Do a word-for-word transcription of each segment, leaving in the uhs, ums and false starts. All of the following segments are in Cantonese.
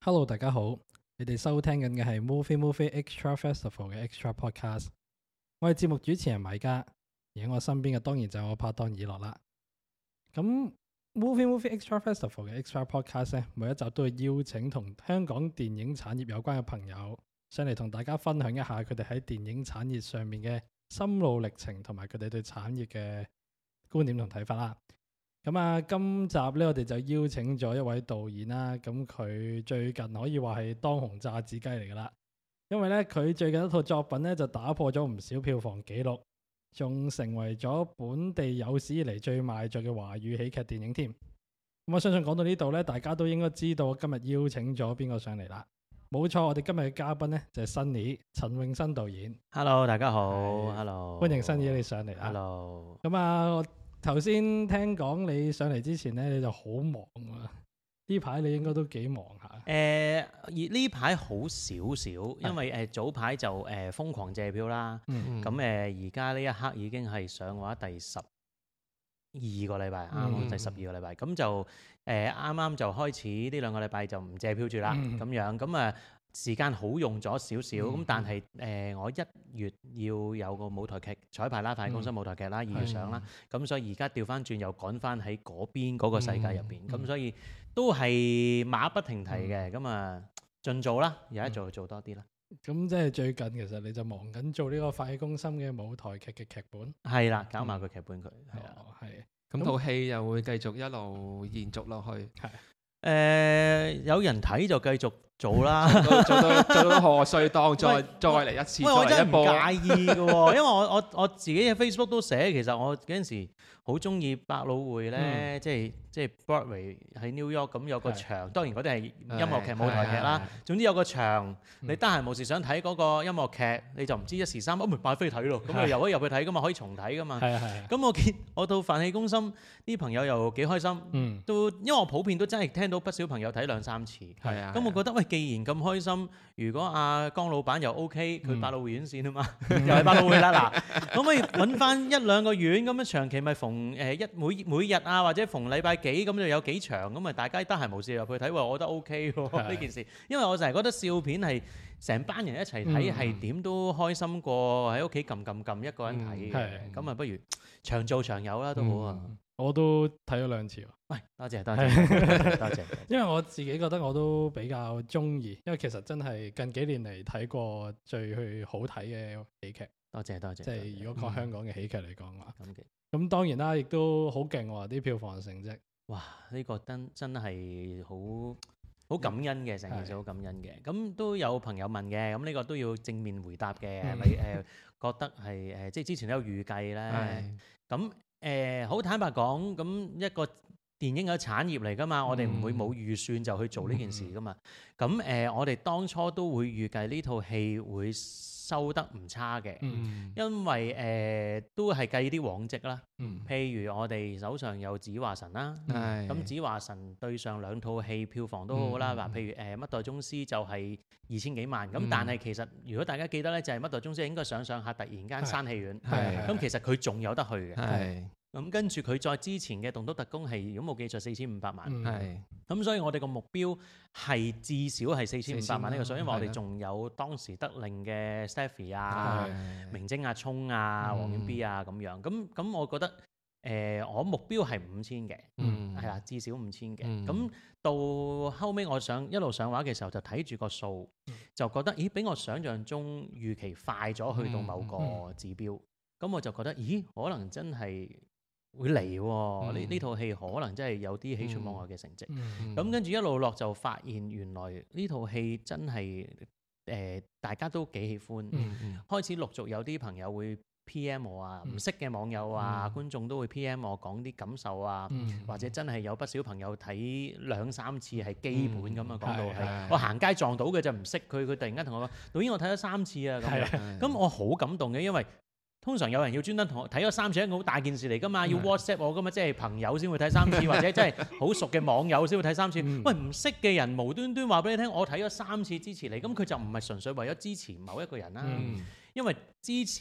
Hello，大家好，你哋收聽緊嘅係 Movie Movie Extra Festival 嘅 Extra Podcast。我係節目主持人米迦，而喺我身邊嘅當然就係我拍檔以樂啦。咁 Movie Movie Extra Festival 嘅 Extra Podcast 咧，每一集都會邀請同香港電影產業有關嘅朋友上嚟同大家分享一下佢哋喺電影產業上面嘅心路歷程，同埋佢哋對產業嘅觀點同睇法啦。咁啊，今集咧我哋就邀請咗一位導演啦。咁佢最近可以話係當紅炸子雞嚟噶啦，因為咧佢最近一套作品咧就打破咗唔少票房紀錄，仲成為咗本地有史以嚟最賣座嘅華語喜劇電影添。咁我相信講到呢度咧，大家都應該知道今日邀請咗邊個上嚟啦。冇錯，我哋今日嘅嘉賓咧就係 Sunny 陳詠燊導演。 Hello， 大家好。Hello， 歡迎 Sunny 你上嚟啦。 Hello。 咁啊，我頭先聽講你上嚟之前咧，你就好忙啊。呢排你應該都幾忙下。 誒、呃，而呢排好少少，因為誒、呃、早排就誒、呃、瘋狂借票啦。咁誒而家呢一刻已經係上畫第十二個禮拜，啱啱、嗯、第十二個禮拜。咁就誒啱啱就開始呢兩個禮拜就唔借票住啦。咁、嗯、樣咁啊。時間好用咗少少，咁、嗯、但係誒、呃、我一月要有個舞台劇彩排啦，快公司舞台劇啦，二、嗯、月上啦，咁、嗯、所以而家調翻轉又趕翻喺嗰邊嗰個世界入邊，咁、嗯嗯、所以都係馬不停蹄嘅，咁啊盡做啦，而家做就做多啲啦。 咁、嗯、即係最近其實你就忙緊做呢個快公心嘅舞台劇嘅劇本。 係啦，搞埋個劇本佢。 係啊，係。 咁套戲又會繼續一路延續落去。 係。 誒、呃、有人睇就繼續做啦， 做到做到做到賀歲檔再再嚟一次， 喂，我真係唔介意嘅喎，因為我我我自己嘅 Facebook 都寫，其實我嗰陣時好中意百老匯咧、嗯，即係即係 Broadway 喺 New York 咁有個場，當然嗰啲係音樂劇、舞台劇啦。總之有個場，你得閒無事想睇嗰個音樂劇，你就唔知一時三刻，咪買飛睇咯。咁你又可以入去睇噶嘛，可以重睇噶嘛。係係。咁我見我到飯氣攻心啲朋友又幾開心，嗯、都因為我普遍都真係聽到不少朋友睇兩三次。係啊。咁我覺得喂，既然咁開心，如果阿江老闆又 OK， 佢百老匯院線啊嘛，嗯、又係百老匯啦嗱，可唔可以揾翻一兩個院咁樣長期咪逢誒一每每日啊，或者逢禮拜幾咁就有幾場咁啊，大家得閒無事入去睇，我覺得 OK 喎呢件事，因為我成日覺得笑片係成班人一齊睇係點都開心過喺屋企撳撳撳一個人睇嘅，咁啊、嗯、不如長做長有啦都好啊、嗯。 我都睇咗兩次喎。 喂，多謝多謝多謝。 因為我自己覺得我都比較中意，因為其實真係近幾年嚟睇過最去好睇嘅喜劇。 多謝多謝。即係如果講香港嘅喜劇嚟講話，咁嘅、 嗯。 咁當然啦，亦都好勁喎啲票房成績。 哇！呢、這個真真係好好感恩嘅，成件事好感恩嘅。咁都有朋友問嘅，咁呢個都要正面回答嘅。係咪誒覺得係誒、呃、即係之前都有預計咧？咁誒好坦白講，咁一個電影嘅產業嚟㗎嘛，嗯、我哋唔會冇預算就去做呢件事㗎嘛。咁誒、嗯呃，我哋當初都會預計呢套戲會收得唔差嘅，嗯、因為誒、呃、都係計啲往績啦。嗯、譬如我哋手上有子華神啦，咁、嗯、子華神對上兩套戲票房都好好啦。嗱、嗯，譬如誒《乜、呃、代宗師》就係二千幾萬，咁、嗯、但係其實如果大家記得咧，就係、是《乜代宗師》應該上上下突然間閂戲院，咁其實佢仲有得去嘅。咁跟住佢再之前嘅《棟篤特工》係如果冇記錯四千五百萬，咁、嗯、所以我哋個目標係至少係四千五百萬呢個數，因為我哋仲有當時得令嘅 Stephy 啊、明晶阿聰啊、黃遠 B 啊咁樣，咁咁我覺得誒、呃、我目標係五千嘅，係啦、嗯，至少五千嘅。咁、嗯、到後尾我想一路上畫嘅時候就睇住個數，就覺得咦比我想象中預期快咗去到某個指標，咁、嗯嗯、我就覺得咦可能真係會嚟喎，呢呢套戲可能真係有啲喜出望外嘅成績。咁、嗯嗯、跟住一路落就發現原來呢套戲真係誒、呃、大家都幾喜歡，嗯嗯、開始陸續有啲朋友會 P M 我啊，唔、嗯、識嘅網友啊、嗯、觀眾都會 P M 我講啲感受啊，嗯、或者真係有不少朋友睇兩三次係基本咁啊，講、嗯、到係我行街撞到嘅就唔識佢，佢突然間同我講導演我睇咗三次啊咁樣，咁我好感動嘅，因為通常有人要專登同我睇咗三次，一個好大件事嚟㗎嘛，要 WhatsApp 我㗎嘛，即係朋友先會睇三次，或者真係好熟嘅網友先會睇三次。喂，唔識嘅人無端端話俾你聽，我睇咗三次支持你，咁佢就唔係純粹為咗支持某一個人啦，因為支持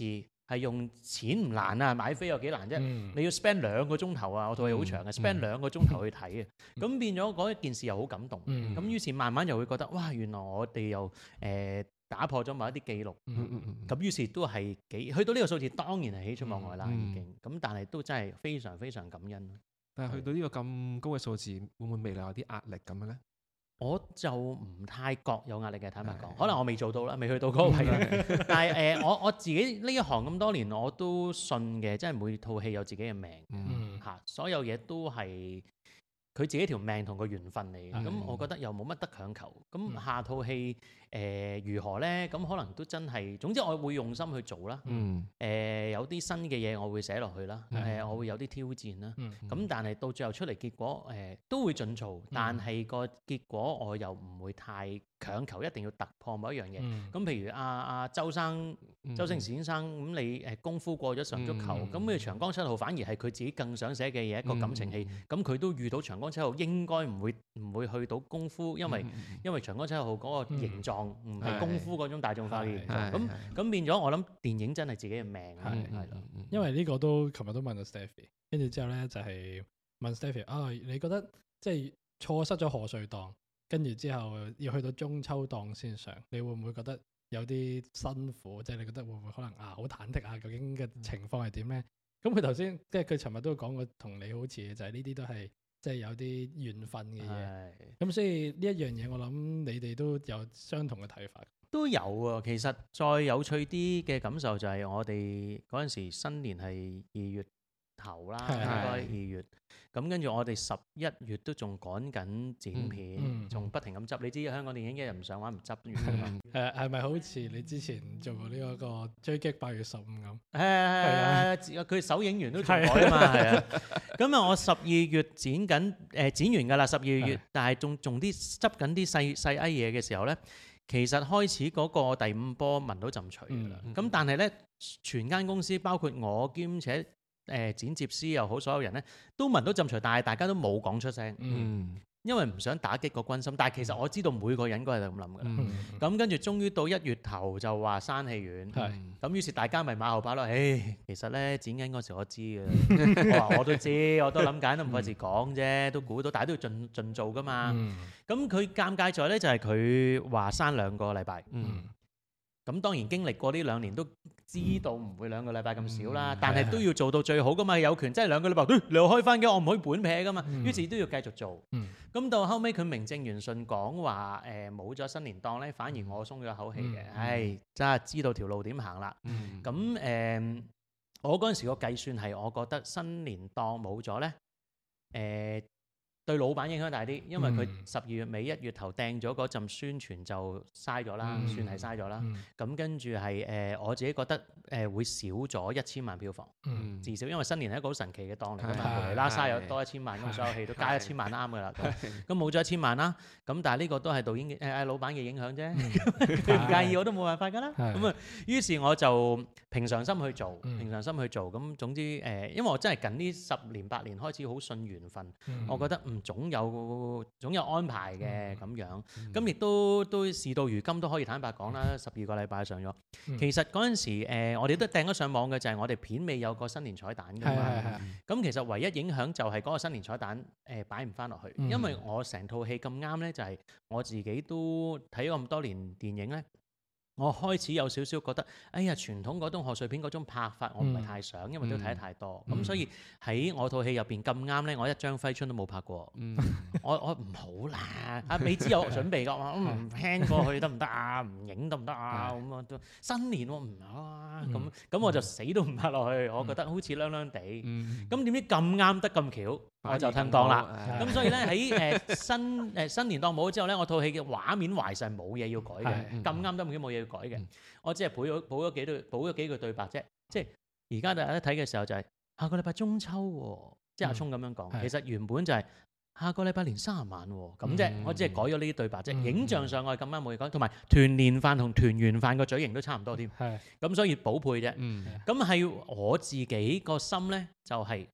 係用錢唔難啊，買飛有幾難啫？ 嗯你要 spend 兩個鐘頭啊，我套戲好長嘅，spend 兩個鐘頭去睇嘅，咁變咗嗰一件事又好感動。 嗯咁於是慢慢又會覺得哇，原來我哋又誒打破咗某一啲記錄。 嗯嗯嗯咁於是都係幾去到呢個數字，當然係喜出望外啦， 嗯已經。咁但係都真係非常非常感恩。 但係去到呢個咁高嘅數字，會唔會未來有啲壓力咁嘅咧？ 我就唔太覺有壓力嘅，坦白講， 係可能我未做到啦，未去到嗰個位啦。但係誒、呃，我我自己呢一行咁多年，我都信嘅，即係每套戲有自己嘅命嗯嚇，所有嘢都係佢自己條命同個緣分嚟嘅。咁、 嗯我覺得又冇乜得強求。咁嗯下套戲誒、呃、如何呢？咁可能都真係，總之我會用心去做啦。 嗯誒、呃、有啲新嘅嘢我會寫落去啦。誒、 嗯我會有啲挑戰啦。 嗯咁但係到最後出嚟結果誒、呃、都會盡做，但係個結果我又唔會太強求一定要突破某一樣嘢。 嗯咁譬如阿阿周生、周星馳先生，咁你誒功夫過咗上足球， 嗯咁你長江七號反而係佢自己更想寫嘅嘢，一個感情戲。 嗯咁佢都遇到長江七號，應該唔會唔會去到功夫，因為嗯嗯因為長江七號嗰個形狀唔係功夫嗰種大眾化嘅形狀。 係咁係咁變咗，我諗電影真係自己嘅命啦， 係係咯。 嗯因為呢個都琴日都問咗 Stephy，跟住之後咧就係、問 Stephy 啊，你覺得即係錯失咗賀歲檔，跟住之後要去到中秋檔先上，你會唔會覺得有啲辛苦？即係你覺得會唔會可能啊好忐忑啊？究竟嘅情況係點咧？咁佢頭先即係佢尋日都講過，同你好似嘅就係呢啲都係即係有啲緣分嘅嘢。 係咁所以呢一樣嘢，我諗你哋都有相同嘅睇法。 都有啊，其實再有趣啲嘅感受就係我哋嗰陣時新年係二月頭啦， 係應該係二月。咁跟住我哋十一月都仲趕緊剪片， 嗯仲不停咁執。你知香港電影一日唔上畫唔執完㗎嘛？ 誒係咪好似你之前做過呢一個追擊八月十五咁？ 係啊，佢首映完都仲改啊嘛，係啊。咁啊，我十二月剪緊誒剪完㗎啦，十二月係， 但係仲仲啲執緊啲細細埃嘢嘅時候咧。其實開始嗰個第五波聞到陣除㗎啦， 嗯咁、但係咧，全間公司包括我兼且誒、呃、剪接師又好，所有人咧都聞到陣除，但係大家都冇講出聲， 嗯因為唔想打擊個軍心。但係其實我知道每個人都係咁諗㗎啦。 嗯咁跟住終於到一月頭就話閂戲院， 係咁於是大家咪馬後炮咯。誒，其實咧剪緊嗰時我知嘅，我話我都知，我都諗緊，都唔費事講啫，都估到，但係都要盡盡做㗎嘛。 嗯咁佢尷尬在咧就係佢話閂兩個禮拜， 嗯咁當然經歷過呢兩年都知道唔會兩個禮拜咁少啦， 嗯但係都要做到最好噶嘛，有權真係兩個禮拜，欸、你又開翻嘅，我唔可以本撇噶嘛， 嗯於是都要繼續做。 嗯咁到後尾，佢名正言順講話誒冇咗新年檔咧，反而我鬆咗口氣嘅， 嗯唉，真係知道條路點行啦。 嗯咁誒、呃我嗰陣時個計算係，我覺得新年檔冇咗咧，誒、對老闆影響大啲，因為佢嗯十二月尾一月頭掟咗嗰陣宣傳就嘥咗啦， 嗯算係嘥咗啦。 嗯咁跟住係誒我自己覺得誒、呃、會少咗一千萬票房， 嗯至少因為新年係一個好神奇嘅檔嚟㗎係嘛，無厘啦沙有係多一千萬，咁係所有戲都加一千萬啱㗎啦。咁係咁冇咗一千萬啦，咁但係呢個都係導演嘅誒誒老闆嘅影響啫， 嗯佢唔介意我都冇辦法㗎啦。 係咁啊，於是我就平常心去做， 嗯平常心去做。咁總之誒、呃因為我真係近呢十年八年開始好信緣分， 嗯我覺得唔總有總有安排嘅嗯咁樣。 嗯咁亦都都事到如今都可以坦白講啦，十二個禮拜上咗。 嗯其實嗰陣時、呃、我哋都掟咗上網嘅就係我哋片尾有個新年彩蛋㗎係係嘛。 係咁其實唯一影響就係嗰個新年彩蛋誒、呃、擺唔翻落去， 嗯因為我成套戲咁啱咧，就係、我自己都睇咗咁多年電影咧。我開始有少少覺得，哎呀，傳統嗰種賀歲片嗰種拍法，我唔係太想，因為都睇得太多。咁、 嗯所以喺我套戲入邊咁啱咧，我一張揮春都冇拍過。 嗯我我唔好啦，阿美芝有準備㗎，我話唔 plan 過去得唔得啊？唔影得唔得啊？咁啊都新年喎唔好啊，咁嗯咁我就死都唔拍落去，我覺得好似孏孏地。 嗯咁點知咁啱得咁巧，我就聽講啦。 係咁所以咧喺誒新誒新年檔冇咗之後咧，我套戲嘅畫面懷實係冇嘢要改嘅， 係咁啱得咁巧冇嘢要改嘅嗯。 我只係補咗補咗幾對補咗幾句對白啫。即係而家大家睇嘅時候就係下個禮拜中秋喎，即係阿聰咁樣講。 係其實原本就係下個禮拜年卅晚喎，咁啫。 嗯我只係改咗呢啲對白啫。 嗯影像上我係咁啱冇嘢改，同埋團年飯同團圓飯個嘴型都差唔多添。 係咁所以補配啫。 嗯咁係我自己個心咧，就係、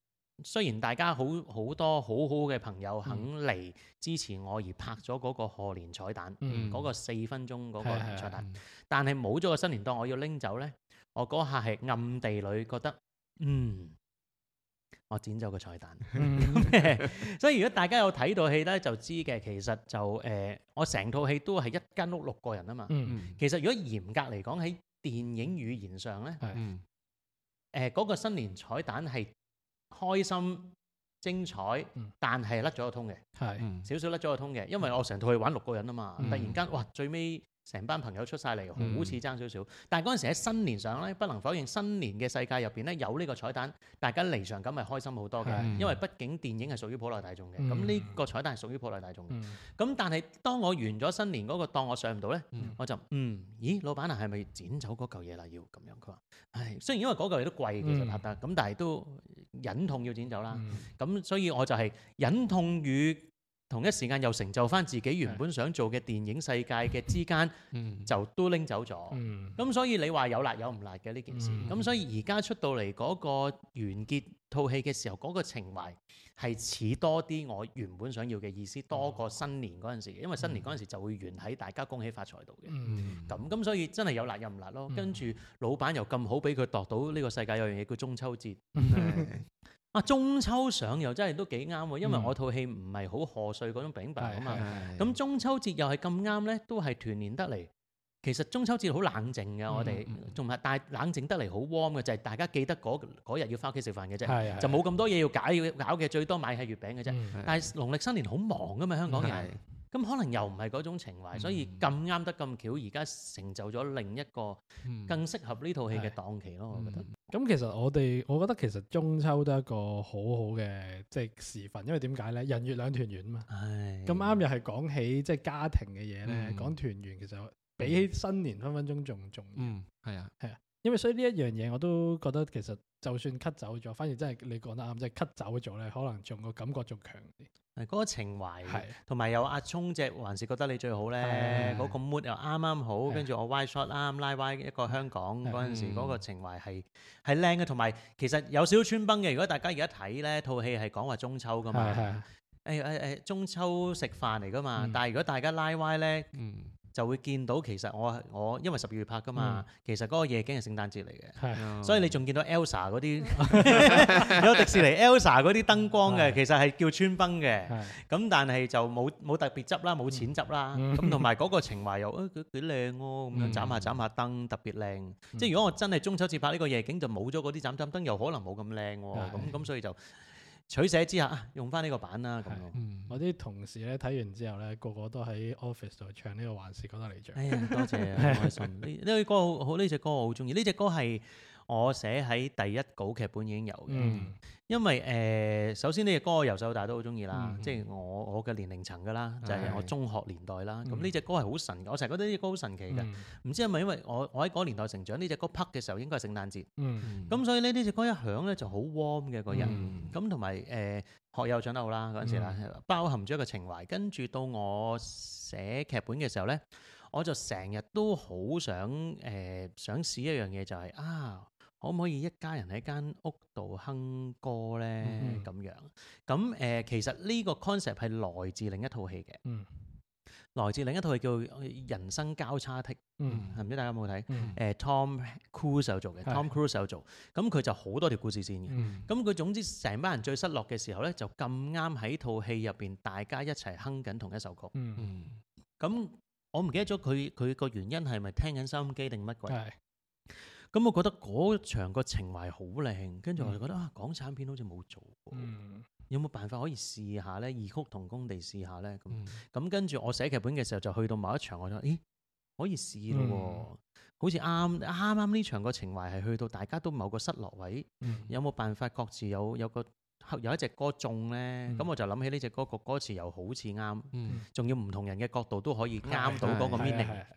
雖然大家好好多好好嘅朋友肯嚟支持我而拍咗嗰個賀年彩蛋，嗰、 嗯個四分鐘嗰個係係彩蛋， 嗯但係冇咗個新年檔，我要拎走咧，我嗰下係暗地裏覺得，嗯，我剪走個彩蛋。 嗯所以如果大家有睇到戲咧，就知嘅，其實就誒、呃，我成套戲都係一間屋六個人啊嘛。 嗯嗯其實如果嚴格嚟講喺電影語言上咧，誒嗰、 嗯呃嗰個新年彩蛋係開心精彩， 嗯但係甩咗個通嘅， 係嗯少少甩咗個通嘅，因為我成套戲玩六個人啊嘛， 嗯突然間哇最尾成班朋友出晒嚟， 嗯好似爭少少。但係嗰陣時喺新年上咧，不能否認新年嘅世界入邊咧有呢個彩蛋，大家離場感係開心好多嘅， 係因為畢竟電影係屬於普羅大眾嘅， 嗯咁呢、個彩蛋係屬於普羅大眾嘅。 嗯咁但係當我完咗新年嗰個檔，我上唔到咧， 嗯我就嗯，咦，老闆啊，係咪剪走嗰嚿嘢啦？要咁樣，佢話，唉，雖然因為嗰嚿嘢都貴，其實嗯拍得，咁但係都忍痛要剪走啦。 嗯咁所以我就係忍痛與同一時間又成就翻自己原本想做嘅電影世界嘅之間， 嗯就都拎走咗。 嗯咁所以你話有辣有唔辣嘅呢件事， 嗯咁所以而家出到嚟嗰個完結套戲嘅時候，嗰個情懷係似多啲我原本想要嘅意思，多過新年嗰陣時，因為新年嗰陣時就會完喺大家恭喜發財度嘅。 嗯咁咁所以真係有辣有唔辣咯。 嗯跟住老闆又咁好俾佢度到呢個世界有樣嘢叫中秋節。 係啊，中秋上又真係都幾啱喎，因為嗯我套戲唔係好賀歲嗰種餅白啊嘛。 係咁中秋節又係咁啱咧，都係團年得嚟。其實中秋節好冷靜嘅，我哋嗯嗯仲係但係冷靜得嚟好 warm 嘅，就係、大家記得嗰嗰日要翻屋企食飯嘅啫， 係就冇咁多嘢要搞要搞嘅，最多買係月餅嘅啫。 嗯但係農曆新年好忙噶嘛，香港人。 係咁可能又唔係嗰種情懷，所以咁啱得咁巧，而家成就咗另一個嗯更適合呢套戲嘅係檔期咯，我覺得。 咁其實我哋，我覺得其實中秋都係一個好好嘅即係時分，因為點解咧？人月兩團圓嘛。 唉， 咁啱又係講起即係家庭嘅嘢咧， 嗯講團圓其實比起新年分分鐘仲重要。 嗯係啊係啊，因為所以呢一樣嘢我都覺得其實就算 cut 走咗，反而真係你講得啱，即係 cut 走咗咧，可能仲個感覺仲強啲。 係嗰個情懷， 係同埋有阿聰隻還是覺得你最好咧， 係嗰個 mood 又啱啱好， 係跟住我 wide shot 啱拉 Y 一個香港係嗰陣時嗯嗰個情懷係係靚嘅，同埋其實有少少穿崩嘅。如果大家而家睇咧，套戲係講話中秋噶嘛， 係係誒誒誒中秋食飯嚟噶嘛， 嗯但係如果大家拉 Y 咧， 嗯就會見到其實我我因為十二月拍噶嘛，其實嗰個夜景係聖誕節嚟嘅。 係所以你仲見到 Elsa 嗰啲有迪士尼 Elsa 嗰啲燈光嘅， 係其實係叫穿崩嘅。 係咁但係就冇冇特別執啦，冇錢執啦。 嗯咁同埋嗰個情懷又誒幾幾靚喎，咁樣嗯斬下斬下燈特別靚。即係如果我真係中秋節拍呢個夜景，就冇咗嗰啲斬斬燈，又可能冇咁靚喎。 係咁咁所以就取捨之下啊，用翻呢個版啦咁係咯。 嗯我啲同事咧睇完之後咧，個個都喺 office 度唱呢個還是覺得你最好。 哎呀，多謝啊，好開心。呢呢個歌好好，呢隻歌我好中意。呢隻歌係我寫喺第一稿劇本已經有嘅。 嗯因為誒、呃首先呢隻歌我由細到大都好中意啦， 嗯即係我我嘅年齡層㗎啦，就係、 係我中學年代啦。咁嗯呢隻歌係好神嘅，我成日覺得呢隻歌好神奇嘅。唔、 嗯知係咪因為我我喺嗰個年代成長，呢隻歌拍嘅時候應該係聖誕節， 嗯咁、所以咧呢隻歌一響咧就好 warm 嘅個人。 嗯咁同埋誒學友唱得好啦嗰陣時啦，包含咗一個情懷。跟住到我寫劇本嘅時候咧，我就成日都好想誒、呃、想試一樣嘢，就係、啊〜可唔可以一家人喺間屋度哼歌咧？ 嗯咁、樣咁誒、呃，其實呢個 concept 係來自另一套戲嘅， 嗯來自另一套戲叫《人生交叉剔》， 嗯唔知大家有冇睇？誒、 嗯呃、Tom Cruise 有做嘅係 ，Tom Cruise 有做，咁佢就好多條故事線嘅。 嗯咁佢總之成班人最失落嘅時候咧，就咁啱喺套戲入邊，大家一齊哼緊同一首曲。 嗯嗯咁我唔記得咗佢佢個原因係咪聽緊收音機定乜鬼？ 係咁我覺得嗰場個情懷好靚，跟住我就覺得啊，港產片好似冇做過， 嗯有冇辦法可以試下呢？異曲同工地試下呢？咁嗯咁跟住我寫劇本嘅時候，就去到某一場，我就咦可以試咯喎， 嗯好似啱啱啱呢場個情懷係去到大家都某個失落位， 嗯有冇辦法各自有有個有一隻歌中呢？咁、 嗯我就諗起呢隻歌個歌詞又好似啱， 嗯仲要唔同人嘅角度都可以啱到嗰個係係 meaning。 係係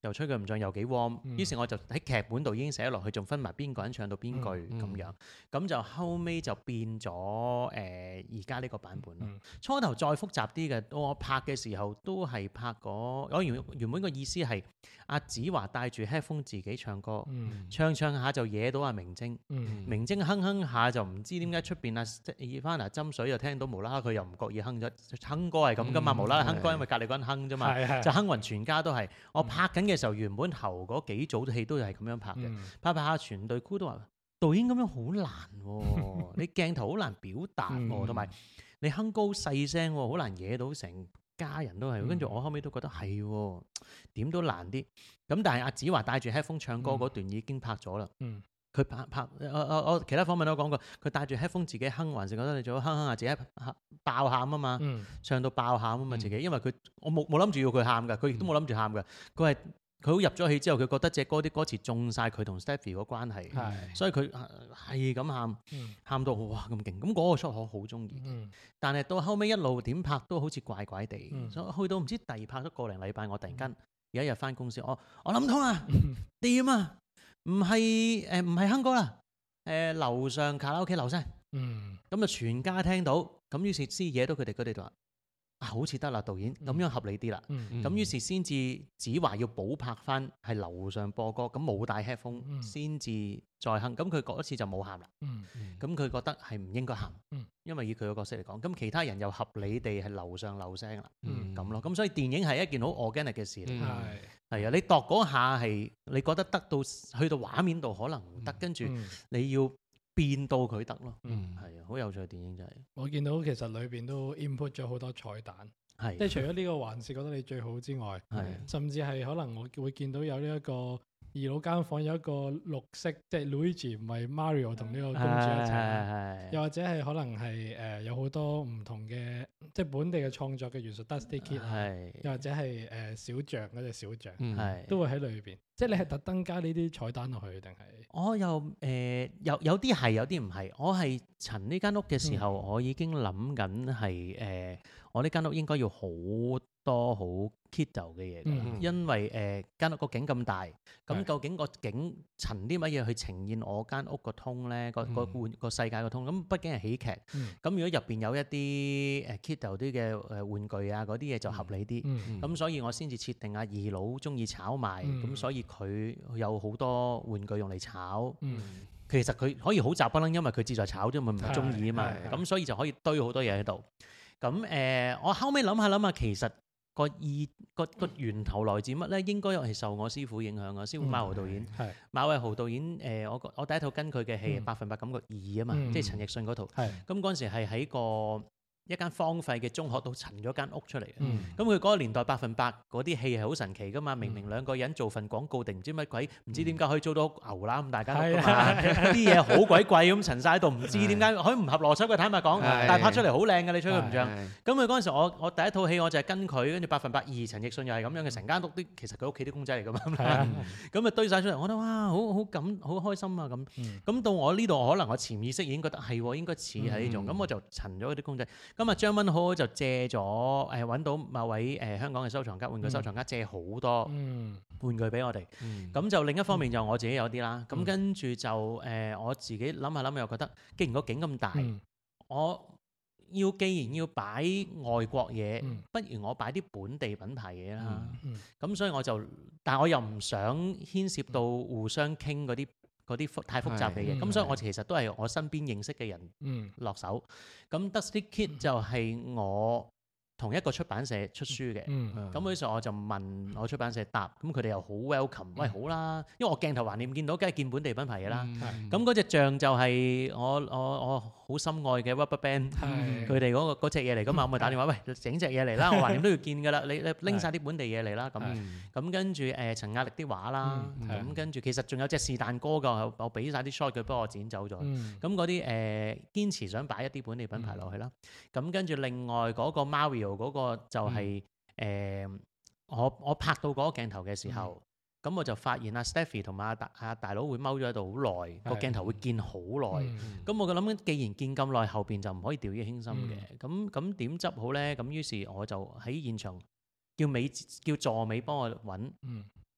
又吹佢唔脹，又幾 warm。 嗯於是我就喺劇本度已經寫落去，仲分埋邊個人唱到邊句嗯咁樣。咁就後尾就變咗誒而家呢個版本咯。 嗯初頭再複雜啲嘅，到我拍嘅時候都係拍嗰，我原原本個意思係阿子華帶住 headphone 自己唱歌， 嗯唱唱下就惹到阿明晶。 嗯明晶哼哼下就唔知點解出邊啊，Ivana斟水又聽到無啦啦佢又唔覺意哼咗，哼歌係咁噶嘛， 嗯無啦啦哼歌係因為隔離嗰人哼啫嘛， 係係就哼暈全家都係。我拍緊嘅時候原本頭嗰幾組戲都係咁樣拍嘅， 嗯拍拍下全隊 crew 都話導演咁樣好難喎，你鏡頭好難表達喎，同埋你哼歌好細聲喎，好難惹到成家人都係。跟住我後尾都覺得係喎，點都難啲。咁但係阿子華帶住 headphone 唱歌嗰段已經拍咗啦。 嗯佢拍拍，我我我其他訪問都講過，佢帶住 headphone 自己哼，還是覺得你做哼哼下自己爆喊啊嘛， 嗯唱到爆喊啊嘛自己，因為佢我冇冇諗住要佢喊㗎，佢亦都冇諗住喊㗎，佢係佢好入咗戲之後，佢覺得隻歌啲歌詞中晒佢同 Stephy 個關係， 係所以佢係咁喊， 嗯喊到哇咁勁，咁嗰個 shot 我好中意， 嗯但係到後尾一路點拍都好似怪怪地， 嗯所以去到唔知第二拍咗個零禮拜，我突然間有一日翻公司，我我諗通啊，掂啊，唔係誒唔係哼歌啦。誒樓上卡拉 OK 樓聲， 嗯咁就全家聽到，咁於是先惹到佢哋，佢哋就話啊好似得啦，導演咁樣合理啲啦。 嗯咁於是先至子華要補拍翻係樓上播歌，咁冇帶 headphone 嗯先至再哼。咁佢嗰次就冇喊啦。 嗯咁佢覺得係唔應該喊嗯， 因為以佢個角色嚟講，咁其他人又合理地係樓上漏聲啦， 嗯咁咯。咁所以電影係一件好 organic 嘅事嚟。 嗯係係啊，你度嗰下係你覺得得到去到畫面度可能唔得，跟住嗯你要變到佢得咯。 嗯係啊，好有趣嘅電影就係我見到其實裏邊都 input 咗好多彩蛋， 係即係除咗呢個還是覺得你最好之外， 係甚至係可能我會見到有呢一個二樓間房有一個綠色，即係 Luigi 唔係 Mario 同呢個公主一齊啦， 係又或者係可能係誒、呃、有好多唔同嘅即係本地嘅創作嘅元素 Dusty Kid 啊， 係又或者係誒、呃、小象嗰隻小象、 嗯係都會喺裏邊，即係你係特登加呢啲彩蛋落去定係？ 我又誒有有啲係有啲唔係，我係陳呢間屋嘅時候，我已經諗緊係誒我呢間屋應該要好多好 kiddo 嘅嘢㗎啦， 嗯因為誒間屋個景咁大，咁係究竟個景陳啲乜嘢去呈現我間屋個通咧？個個嗯玩個世界個通，咁畢竟係喜劇，咁嗯如果入邊有一啲誒 kiddo 啲嘅誒玩具啊嗰啲嘢就合理啲。 嗯咁所以我先至設定阿二佬中意炒賣，咁、 嗯所以佢有好多玩具用嚟炒。 嗯其實佢可以好雜不楞，因為佢志在炒啫嘛，唔係中意啊嘛。 係係咁所以就可以堆好多嘢喺度。咁誒、呃我後尾諗下諗下，其實個意個個源頭來自乜咧？應該係受我師傅影響啊。師傅馬豪導演， 係馬偉豪導演誒、呃我我第一套跟佢嘅戲係嗯 《百分百感覺二》啊嘛， 嗯即係陳奕迅嗰套。 係咁嗰陣時係喺個一間荒廢嘅中學度陳咗間屋出嚟嘅。 嗯咁佢嗰個年代百分百嗰啲戲係好神奇噶嘛，明明兩個人做份廣告定唔知乜鬼，唔知點解可以租到牛腩咁大間屋噶嘛，啲嘢好鬼貴咁陳晒喺度，唔知點解佢唔合邏輯嘅，坦白講， 係但係拍出嚟好靚嘅，你吹佢唔脹。 係咁佢嗰陣時我我第一套戲我就係跟佢，跟住百分百二陳奕迅又係咁樣嘅，成間屋啲其實佢屋企啲公仔嚟噶嘛， 係啊咁啊堆晒出嚟，我覺得哇好好感好開心啊咁。 嗯咁到我呢度可能我潛意識已經覺得係喎，應該似係呢種，咁、 嗯我就陳咗嗰啲公仔。咁啊張文好就借咗誒揾到某位誒、呃香港嘅收藏家玩具收藏家借好多嗯玩具俾我哋。 嗯咁、就另一方面就我自己有啲啦。咁、 嗯跟住就誒、呃我自己諗下諗下又覺得，既然個景咁大， 嗯我要既然要擺外國嘢， 嗯不如我擺啲本地品牌嘢啦。 嗯咁、所以我就，但我又唔想牽涉到互相傾嗰啲嗰啲複太複雜嘅嘢。 係咁、所以我其實都係我身邊認識嘅人嗯落手。咁 Dusty Kid 就係我同一個出版社出書嘅。 嗯咁嗰時候我就問我出版社答，咁佢哋又好 welcome，喂好啦，因為我鏡頭橫掂見到，梗係見本地品牌嘢啦。 嗯咁嗰隻象就係我我我好心愛嘅 Rubberband。 係佢哋嗰個嗰隻嘢嚟噶嘛，我咪打電話喂整隻嘢嚟啦，我橫掂都要見噶啦，你你拎晒啲本地嘢嚟啦咁。 嗯咁跟住誒陳亞力啲畫啦， 嗯咁跟住其實仲有隻是但歌噶，我我俾晒啲 shot 佢幫我剪走咗。 嗯咁嗰啲誒堅持想擺一啲本地品牌落去啦。咁跟住另外嗰個 Mario 嗰個就係誒我我拍到嗰個鏡頭嘅時候，咁我就發現阿 Stephy 同埋阿大阿大佬會踎咗喺度好耐，個係鏡頭會見好耐。 嗯咁我嘅諗緊，既然見咁耐，後邊就唔可以掉以輕心嘅。咁咁點執好咧？咁於是我就喺現場叫美叫助美幫我揾嗯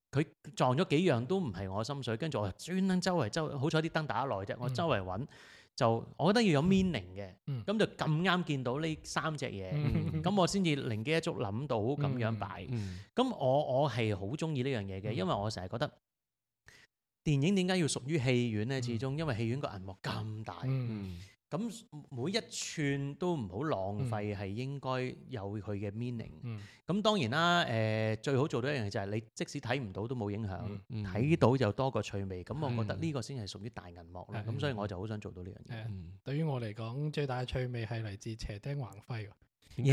佢撞咗幾樣都唔係我心水，跟住我專登周圍周圍，好彩啲燈打得耐啫，我周圍揾。就我覺得要有 meaning 嘅，咁、 嗯、 就咁啱見到呢三隻嘢，咁、 嗯、 我先至靈機一觸諗到咁樣擺。咁、 嗯嗯、我我係好中意呢樣嘢嘅，因為我成日覺得電影點解要屬於戲院呢？始終因為戲院個銀幕咁大，咁、 嗯、 每一寸都唔好浪費，係、嗯、應該有佢嘅 meaning。咁、 嗯、 當然啦，誒、呃、最好做到一樣嘢就係你即使睇唔到都冇影響，睇、 嗯、 到就多個趣味。咁、嗯、我覺得呢個先係屬於大銀幕咯。咁、嗯、所以我就好想做到呢樣嘢。 嗯、對於我嚟講，最大嘅趣味係嚟自斜釘橫揮。 耶！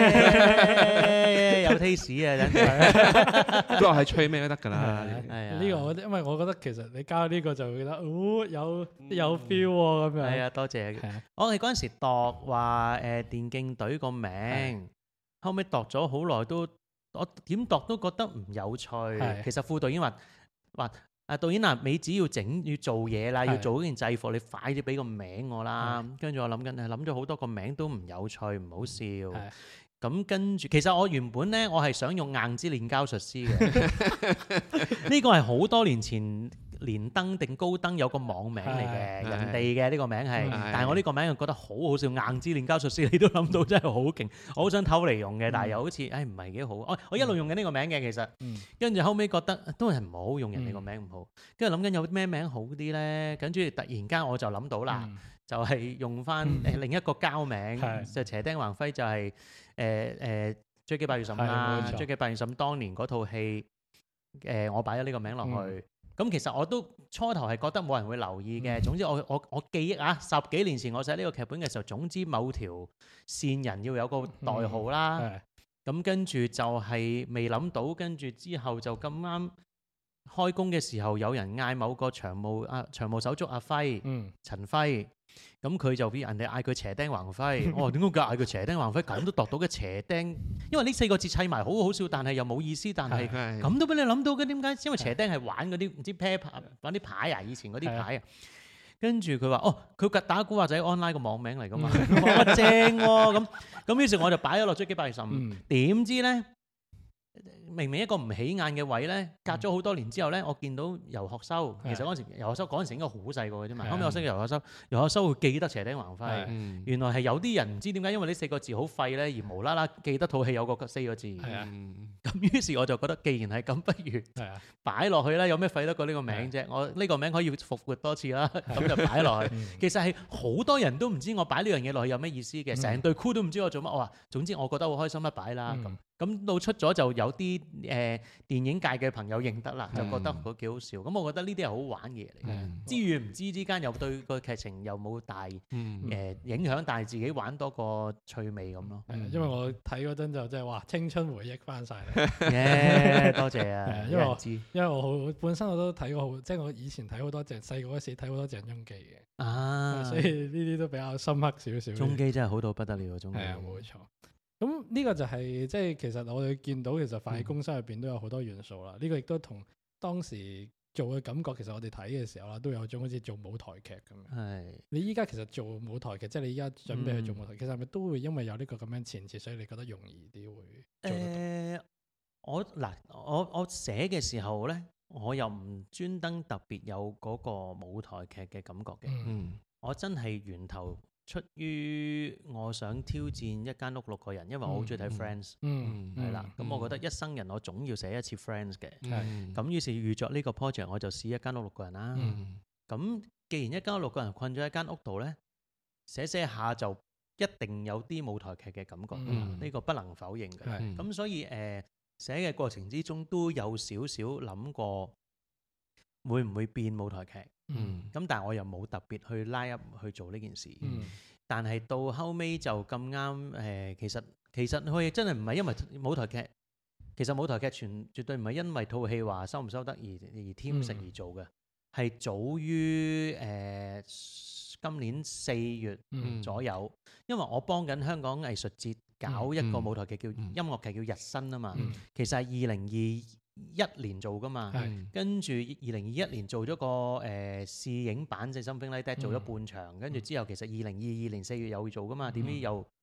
有 taste 啊，真係都係吹咩都得㗎啦。 呢個我因為我覺得其實你交呢個就會覺得哦有有 feel 喎咁樣。 係啊，多謝。我哋嗰陣時度話誒電競隊個名，後尾度咗好耐都，我點度都覺得唔有趣。其實副導演話話。啊導演啊，你只要整要做嘢啦，要做嗰件制服，你快啲俾個名我啦。跟住我諗緊，諗咗好多個名都唔有趣，唔好笑。咁跟住，其實我原本咧，我係想用硬之煉膠術師嘅。呢個係好多年前連登定高登有個網名嚟嘅，人哋嘅呢個名係。但係我呢個名又覺得好好笑，硬之煉膠術師你都諗到真係好勁，我好想偷嚟用嘅，但係又好似誒唔係幾好。我我一路用緊呢個名嘅其實，跟住後尾覺得都係唔好用人哋個名唔好，跟住諗緊有咩名好啲咧，跟住突然間我就諗到啦，就係用翻誒另一個膠名，就斜釘橫揮就係。誒誒追擊八月十五啦，追擊八月十五當年嗰套戲，誒我擺咗呢個名落去，咁其實我都初頭係覺得冇人會留意嘅。總之我我我記憶啊，十幾年前我寫呢個劇本嘅時候，總之某條線人要有個代號啦，咁跟住就係未諗到，跟住之後就咁啱開工嘅時候，有人嗌某個長務啊長務手足阿輝，陳輝。咁佢就俾人哋嗌佢斜釘橫揮，我話點解佢嗌佢斜釘橫揮咁都度到嘅斜釘？因為呢四個字砌埋好好笑，但係又冇意思，但係咁都俾你諗到嘅，點解？因為斜釘係玩嗰啲唔知啤牌玩啲牌啊，以前嗰啲牌啊。跟住佢話：哦，佢打古惑仔 online 個網名嚟㗎嘛，我正喎。咁咁於是我就擺咗落追擊八月十五，點知咧？明明一個唔起眼嘅位咧，隔咗好多年之後咧，我見到游學修，其實嗰陣時游學修嗰陣時應該好細個嘅啫嘛。後尾我識游學修，游學修會記得斜釘橫揮。原來係有啲人唔知點解，因為呢四個字好廢咧，而無啦啦記得套戲有個四個字。咁於是我就覺得，既然係咁，不如擺落去啦。有咩廢得過呢個名啫？我呢個名可以復活多次啦，咁就擺落去。其實係好多人都唔知我擺呢樣嘢落去有咩意思嘅，成隊 crew 都唔知我做乜。我話總之我覺得好開心啦，擺啦咁。咁到出咗就有啲誒、呃、電影界嘅朋友認得啦，就覺得佢幾好笑。咁、嗯、我覺得呢啲係好玩嘅嘢嚟嘅，嗯、知與唔知之間又對個劇情又冇大誒、嗯呃、影響，但係自己玩多個趣味咁咯。 嗯、因為我睇嗰陣就真係哇青春回憶翻晒嚟。 耶，多謝啊！ 因為我因為我好本身我都睇過好，即係我以前睇好多鄭細個嗰時睇好多鄭中基嘅啊，所以呢啲都比較深刻少少。 中基真係好到不得了，中基。 係啊，冇錯。咁呢個就係、是、即係其實我哋見到其實飯戲攻心入邊都有好多元素啦。呢、嗯、個亦都同當時做嘅感覺，其實我哋睇嘅時候啦，都有種好似做舞台劇咁樣。係是。你依家其實做舞台劇，即係你依家準備去做舞台劇，其實係咪都會因為有呢個咁樣前設，所以你覺得容易啲會做得到？誒、呃， 我嗱我我寫嘅時候咧，我又唔專登特別有嗰個舞台劇嘅感覺嘅。嗯。我真係源頭。出於我想挑戰一間屋六個人，因為我好中意睇 Friends，係啦。咁我覺得一生人我總要寫一次 Friends 嘅。咁於是預作呢個 project，我就試一間屋六個人啦。咁既然一間屋六個人困咗喺間屋度咧，寫寫下就一定有啲舞台劇嘅感覺，呢個不能否認嘅。咁所以誒寫嘅過程之中都有少少諗過會唔會變舞台劇。嗯，咁但係我又冇特別去拉入去做呢件事，嗯、但係到後尾就咁啱誒，其實其實佢真係唔係因為舞台劇，其實舞台劇全絕對唔係因為套戲話收唔收得而而添食而做嘅，係、嗯、早於誒、呃、今年四月左右，嗯、因為我幫緊香港藝術節搞一個舞台劇叫、嗯、音樂劇叫日新啊嘛，嗯、其實係二零二一年做噶嘛，跟住二零二一年做咗個誒試影版即係 Something Like That 做咗半場，跟住之後其實二零二二年四月又會做噶嘛，點知又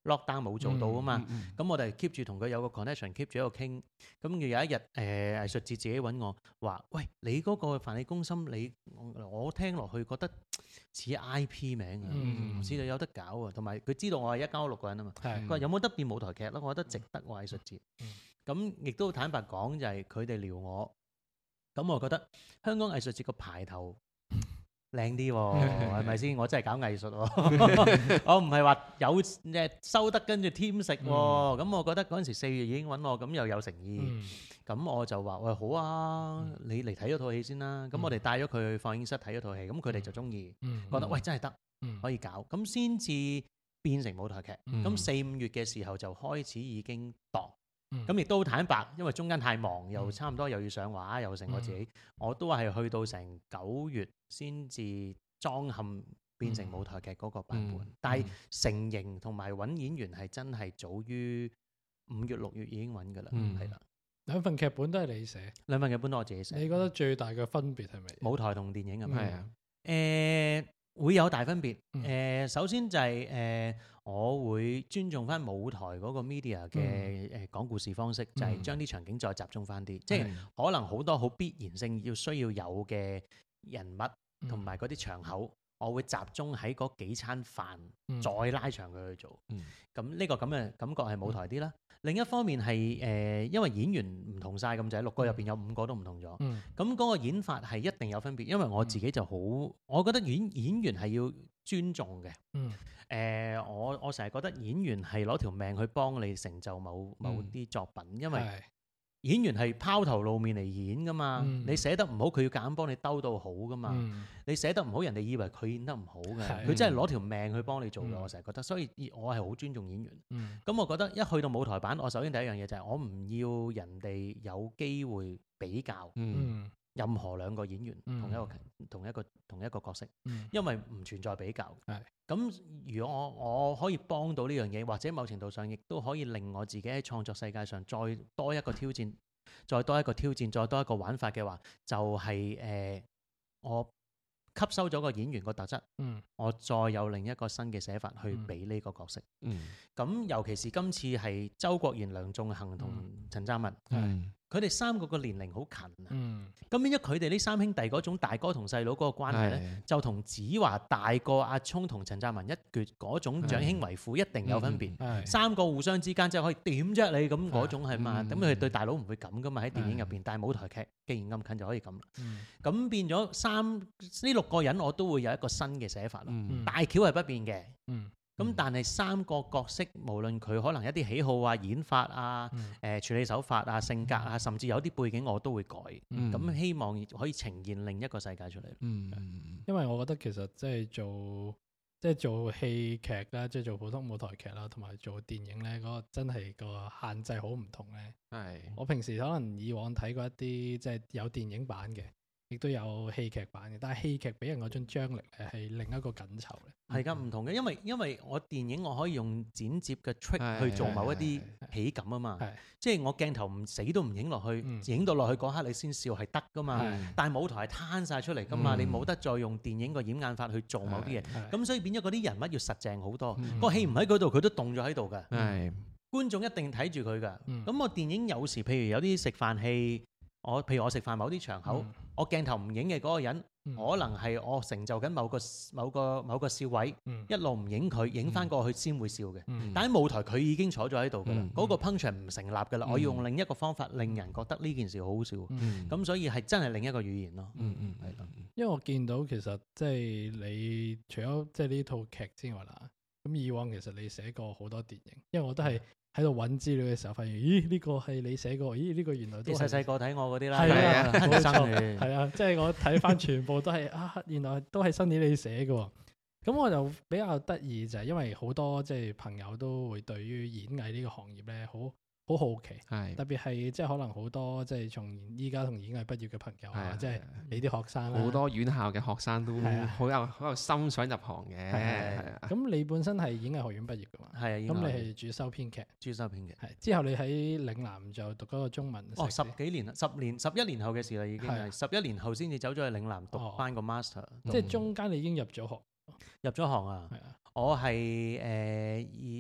lockdown 冇做到啊嘛。 嗯嗯咁我哋 keep 住同佢有個 connection，keep 住喺度傾。咁有一日誒、呃、藝術節自己揾我話：喂，你嗰個飯氣攻心，你我我聽落去覺得似 I P 名啊， 嗯唔知道有得搞啊。同埋佢知道我係一間屋六個人啊嘛。 係佢話有冇得變舞台劇咯？我覺得值得喎藝術節。 嗯咁亦都坦白講，就係佢哋撩我。咁我覺得香港藝術節個牌頭靚啲喎，係咪先？我真係搞藝術喎，我唔係話有誒收得跟住添食喎。咁我覺得嗰陣時四月已經揾我，咁又有誠意。 嗯咁我就話：喂，好啊，你嚟睇咗套戲先啦。咁我哋帶咗佢去放映室睇咗套戲，咁佢哋就中意， 嗯覺得喂真係得， 嗯可以搞，咁先至變成舞台劇。 嗯咁四五月嘅時候就開始已經度。 嗯咁亦都好坦白，因為中間太忙，又差唔多又要上畫，又成我自己，我都係去到成九月先至裝嵌變成舞台劇嗰個版本。 嗯但係成型同埋揾演員係真係早於五月六月已經揾㗎啦， 嗯係啦。 兩份劇本都係你寫， 兩份劇本都我自己寫。 你覺得最大嘅分別係咪？ 舞台同電影係咪？ 係啊， 誒、會有大分別。誒、 嗯首先就係、誒、我會尊重翻舞台嗰個 media 嘅誒講故事方式，就係將啲場景再集中翻啲，即係可能好多好必然性要需要有嘅人物同埋嗰啲場口，我會集中喺嗰幾餐飯， 嗯再拉長佢去做。 嗯咁呢、個咁嘅感覺係舞台啲啦。另一方面係誒、因為演員唔同晒咁滯，六個入邊有五個都唔同咗。 嗯咁嗰個演法係一定有分別，因為我自己就好，我覺得演演員係要尊重嘅。誒、 嗯我我成日覺得演員係攞條命去幫你成就某某啲作品，因為係演員係拋頭露面嚟演噶嘛。 嗯你寫得唔好，佢要夾硬幫你兜到好噶嘛。 嗯你寫得唔好，人哋以為佢演得唔好嘅， 係佢真係攞條命去幫你做嘅。 嗯我成日覺得，所以我係好尊重演員。 嗯咁我覺得一去到舞台版，我首先第一樣嘢就係我唔要人哋有機會比較。 嗯嗯任何兩個演員嗯同一個同一個同一個角色， 嗯因為唔存在比較。 係咁，如果我我可以幫到呢樣嘢，或者某程度上亦都可以令我自己喺創作世界上再多一個挑戰，再多一個挑戰，再多一個玩法嘅話，就係、誒、我吸收咗個演員個特質， 嗯我再有另一個新嘅寫法去俾呢個角色。 嗯咁、尤其是今次係周國賢、梁仲恒同陳湛文， 嗯佢哋三個個年齡好近啊。 嗯咁變咗佢哋呢三兄弟嗰種大哥同細佬嗰個關係咧， 係就同子華大過阿聰同陳湛文一橛嗰種長兄為父一定有分別。 係三個互相之間即係可以點啫你咁嗰種係嘛？ 嗯咁佢哋對大佬唔會咁噶嘛喺電影入邊，但係舞台劇既然咁近就可以咁啦。 嗯咁變咗三呢六個人我都會有一個新嘅寫法咯。 嗯大橋係不變嘅。 嗯咁嗯但係三個角色，無論佢可能一啲喜好啊、演法啊、 嗯誒、處理手法啊、性格啊，甚至有啲背景我都會改。 嗯咁、希望可以呈現另一個世界出嚟。 嗯嗯因為我覺得其實即係做即係做戲劇啦，即係做普通舞台劇啦，同埋做電影咧，嗰、個真係個限制好唔同咧。 係我平時可能以往睇過一啲即係有電影版嘅，亦都有戲劇版嘅，但係戲劇俾人嗰種張力咧係另一個緊湊咧。 係㗎，唔同嘅，因為因為我電影我可以用剪接嘅 trick 係去做某一啲係喜感啊嘛， 係即係我鏡頭唔死都唔影落去， 嗯影到落去嗰刻你先笑係得㗎嘛。 係但係舞台係攤晒出嚟㗎嘛， 嗯你冇得再用電影個掩眼法去做某啲嘢， 係咁所以變咗嗰啲人物要實淨好多。 嗯個戲唔喺嗰度，佢都動咗喺度㗎。 係觀眾一定睇住佢㗎。咁、 嗯我電影有時譬如有啲食飯戲，我譬如我食飯某啲場口， 嗯我鏡頭唔影嘅嗰個人， 嗯可能係我成就緊某個某個某個笑位， 嗯一路唔影佢，影翻過去先會笑嘅。 嗯但喺舞台佢已經坐咗喺度㗎啦， 嗯嗰、個 punch 唔成立㗎啦。 嗯我要用另一個方法令人覺得呢件事好好笑。咁、 嗯所以係真係另一個語言咯。 嗯嗯係啦。 因為我見到其實即係你除咗即係呢套劇之外啦，咁以往其實你寫過好多電影，因為我都係喺度揾資料嘅時候發現，咦呢、個係你寫過，咦呢、個原來都你係細細個睇我嗰啲啦， 係啊啊， 親冇錯身嘅。 係啊，即係我睇翻全部都係啊，原來都係新年你寫嘅喎。咁我就比較得意就係因為好多即係朋友都會對於演藝呢個行業咧好好好奇， 係特別係即係可能好多即係從依家同演藝畢業嘅朋友啊， 係啊即係你啲學生啦好多院校嘅學生都係啊好有好有心想入行嘅， 係係啊， 咁你本身係演藝學院畢業嘅嘛？ 係啊， 咁你係主修編劇， 主修編劇。 係之後你喺嶺南就讀嗰個中文哦，十碩士幾年啦，十年十一年後嘅事啦，已經係十一年後先至走咗去嶺南讀哦翻個 master， 即係中間你已經入咗學， 入咗行啊！ 係啊， 我係誒二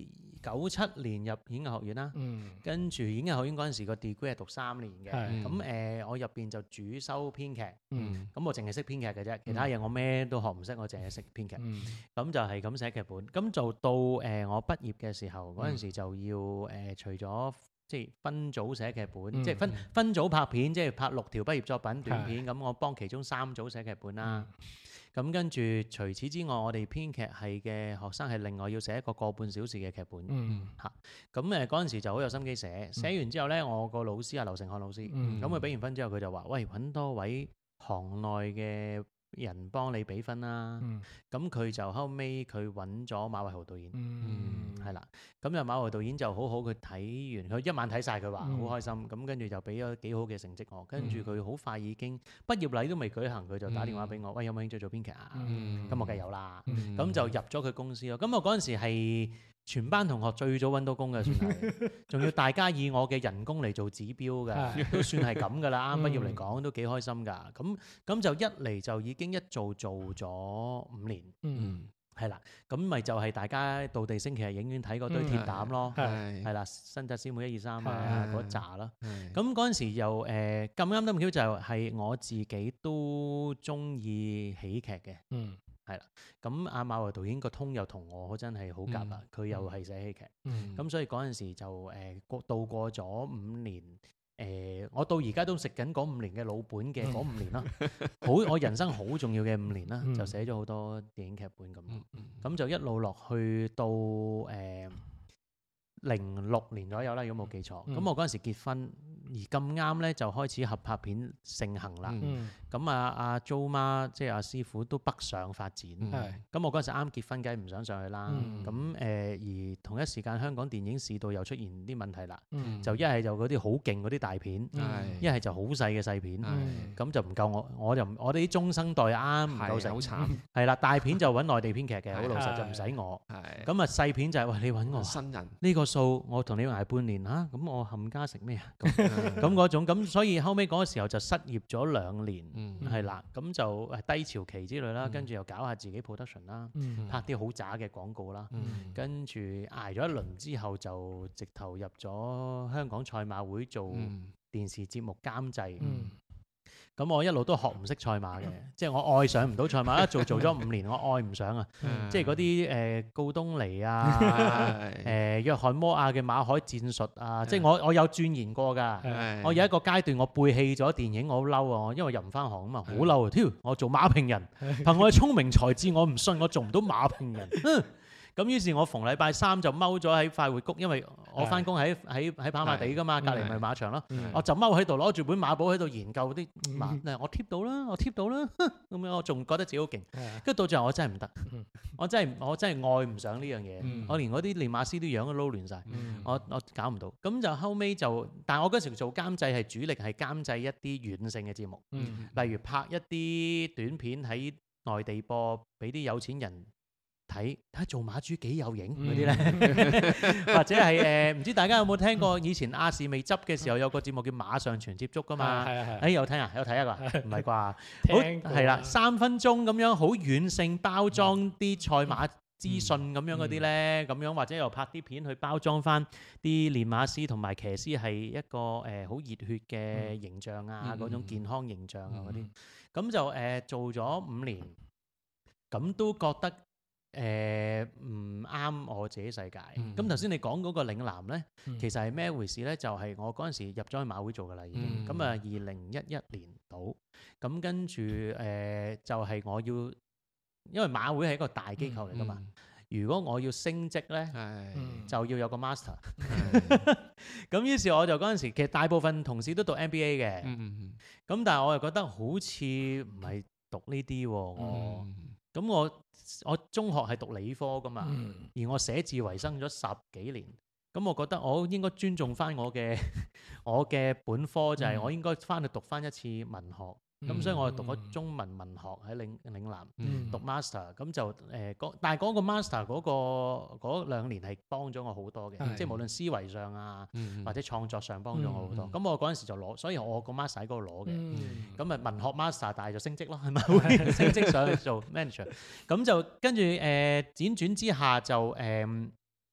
九七年入演藝學院啦， 嗯跟住演藝學院嗰陣時個 degree 係讀三年嘅， 係咁誒我入邊就主修編劇， 嗯咁我淨係識編劇嘅啫，其他嘢我咩都學唔識，我淨係識編劇。 嗯咁就係咁寫劇本，咁就到誒、呃、我畢業嘅時候，嗰陣時就要誒、呃、除咗即係分組寫劇本， 嗯即係分分組拍片，即係拍六條畢業作品短片，咁我幫其中三組寫劇本啦。咁跟住除此之外，我哋編劇系嘅學生係另外要寫一個個半小時嘅劇本嗯嚇。咁誒嗰陣時就好有心機寫，寫完之後呢，我個老師係劉成漢老師， 嗯咁佢俾完分之後，佢就話：喂，揾多位行內嘅人幫你俾分啦。 嗯咁佢就後尾佢揾咗馬偉豪導演， 嗯係啦。咁就馬偉豪導演就好好，佢睇完佢一晚睇晒，佢話好嗯開心。咁跟住就俾咗幾好嘅成績我。跟住佢好快已經畢業禮都未舉行，佢就打電話俾我，喂，有冇興趣做編劇啊？ 嗯咁我梗係有啦。 嗯咁就入咗佢公司咯。咁我嗰陣時係全班同學最早揾到工嘅，算係，仲要大家以我嘅人工嚟做指標㗎，都算係咁㗎啦。啱畢業嚟講都幾開心㗎。咁咁就一嚟就已經一做做咗五年， 嗯係啦。咁咪就係大家到地星期日影院睇嗰堆鐵膽咯， 係係啦，新紮師妹一二三啊係嗰扎啦。 係咁嗰陣時又誒咁啱得咁巧，就係我自己都中意喜劇嘅。 嗯咁阿馬維導演個通又同我真係好夾啊！佢、又係寫喜劇，咁、 嗯所以嗰陣時就誒過、度過咗五年，誒、我到而家都食緊嗰五年嘅老本嘅嗰五年啦，好我人生好重要嘅五年啦， 嗯就寫咗好多電影劇本咁，咁、 嗯就一路落去到誒零六年左右啦，如果冇記錯，咁、 嗯我嗰陣時結婚，而咁啱咧就開始合拍片盛行啦。 嗯嗯咁啊，阿 Jo 媽即係阿師傅都北上發展，咁、 係我嗰陣時啱結婚，梗係唔想上去啦。 嗯咁誒、呃而同一時間香港電影市道又出現啲問題啦， 嗯就一係就嗰啲好勁嗰啲大片， 嗯係一係就好細嘅細片，咁、 係就唔夠我，我就唔我哋啲中生代啱唔夠食係好，慘， 係啦，大片就揾內地編劇嘅，好係老實係就唔使我。 係咁啊細片就係、喂你揾我啊新人呢個數，我同你捱半年嚇，咁、我冚家食咩啊？咁咁咁嗰種，咁所以後尾嗰個時候就失業咗兩年。 嗯係啦，咁就誒低潮期之類啦， 嗯跟住又搞下自己 production 啦， 嗯拍啲好渣嘅廣告啦， 嗯跟住捱咗一輪之後就直頭入咗香港賽馬會做嗯電視節目監製。 嗯咁我一路都學唔識賽馬嘅，即係我愛上唔到賽馬，一做做咗五年，我愛唔上啊！ 嗯即係嗰啲誒告東尼啊， 係誒約翰摩亞嘅馬海戰術啊，即係我我有鑽研過㗎。 係我有一個階段，我背棄咗電影，我好嬲啊！我因為入唔翻行啊嘛，好嬲啊！挑我做馬評人，憑我嘅聰明才智，我唔信我做唔到馬評人。哼咁於是，我逢禮拜三就踎咗喺快活谷，因為我翻工喺喺喺跑馬地㗎嘛，隔離咪馬場咯。 嗯我就踎喺度攞住本馬簿喺度研究啲馬，誒我貼到啦，我貼到啦，哼咁樣我仲覺得自己好勁。 係跟住到最後我真係唔得嗯， 我真係我真係愛唔上呢樣嘢嗯， 我連嗰啲練馬師啲樣都撈亂晒。 嗯我我搞唔到，咁就後尾就，但係我嗰時做監製係主力係監製一啲軟性嘅節目， 嗯例如拍一啲短片喺內地播，俾啲有錢人睇，睇下做馬豬幾有型嗰啲咧，或者係誒唔知大家有冇聽過以前亞視未執嘅時候有個節目叫馬上全接觸噶嘛？ 係係誒有睇啊？有睇啊個？唔係啩？好聽過係啦，三分鐘咁樣好軟性包裝啲賽馬資訊咁樣嗰啲咧，咁樣或者又拍啲片去包裝翻啲練馬師同埋騎師係一個誒好熱血嘅形象啊， 嗯嗰種健康形象啊嗰啲嗯， 咁就誒做咗五年，咁都覺得誒唔啱我自己世界。 嗯咁頭先你講嗰個嶺南咧， 嗯其實係咩回事咧？就係我嗰陣時入咗去馬會做噶啦，已經嗯咁啊，二零一一年到，咁跟住誒就係我要，因為馬會係一個大機構嚟噶嘛，如果我要升職咧， 係嗯就要有個 master。 係咁於是我就嗰陣時，其實大部分同事都讀 M B A 嘅，咁、 嗯但係我又覺得好似唔係讀呢啲喎，我嗯咁我我中學係讀理科噶嘛， 嗯而我寫字為生咗十幾年，咁我覺得我應該尊重翻我嘅我嘅本科，就係我應該翻去讀翻一次文學。咁、 嗯所以我就讀咗中文文學喺嶺嶺南。 嗯讀 master 咁就誒，嗰但係嗰個 master 嗰、個嗰兩年係幫咗我好多嘅， 係即係無論思維上啊， 嗯或者創作上幫咗我好多。 嗯咁、我嗰陣時就攞，所以我個 master 喺嗰度攞嘅。 嗯咁啊、文學 master，但係就升職咯，係咪會升職上去做 manager？咁就跟住誒輾轉之下就誒、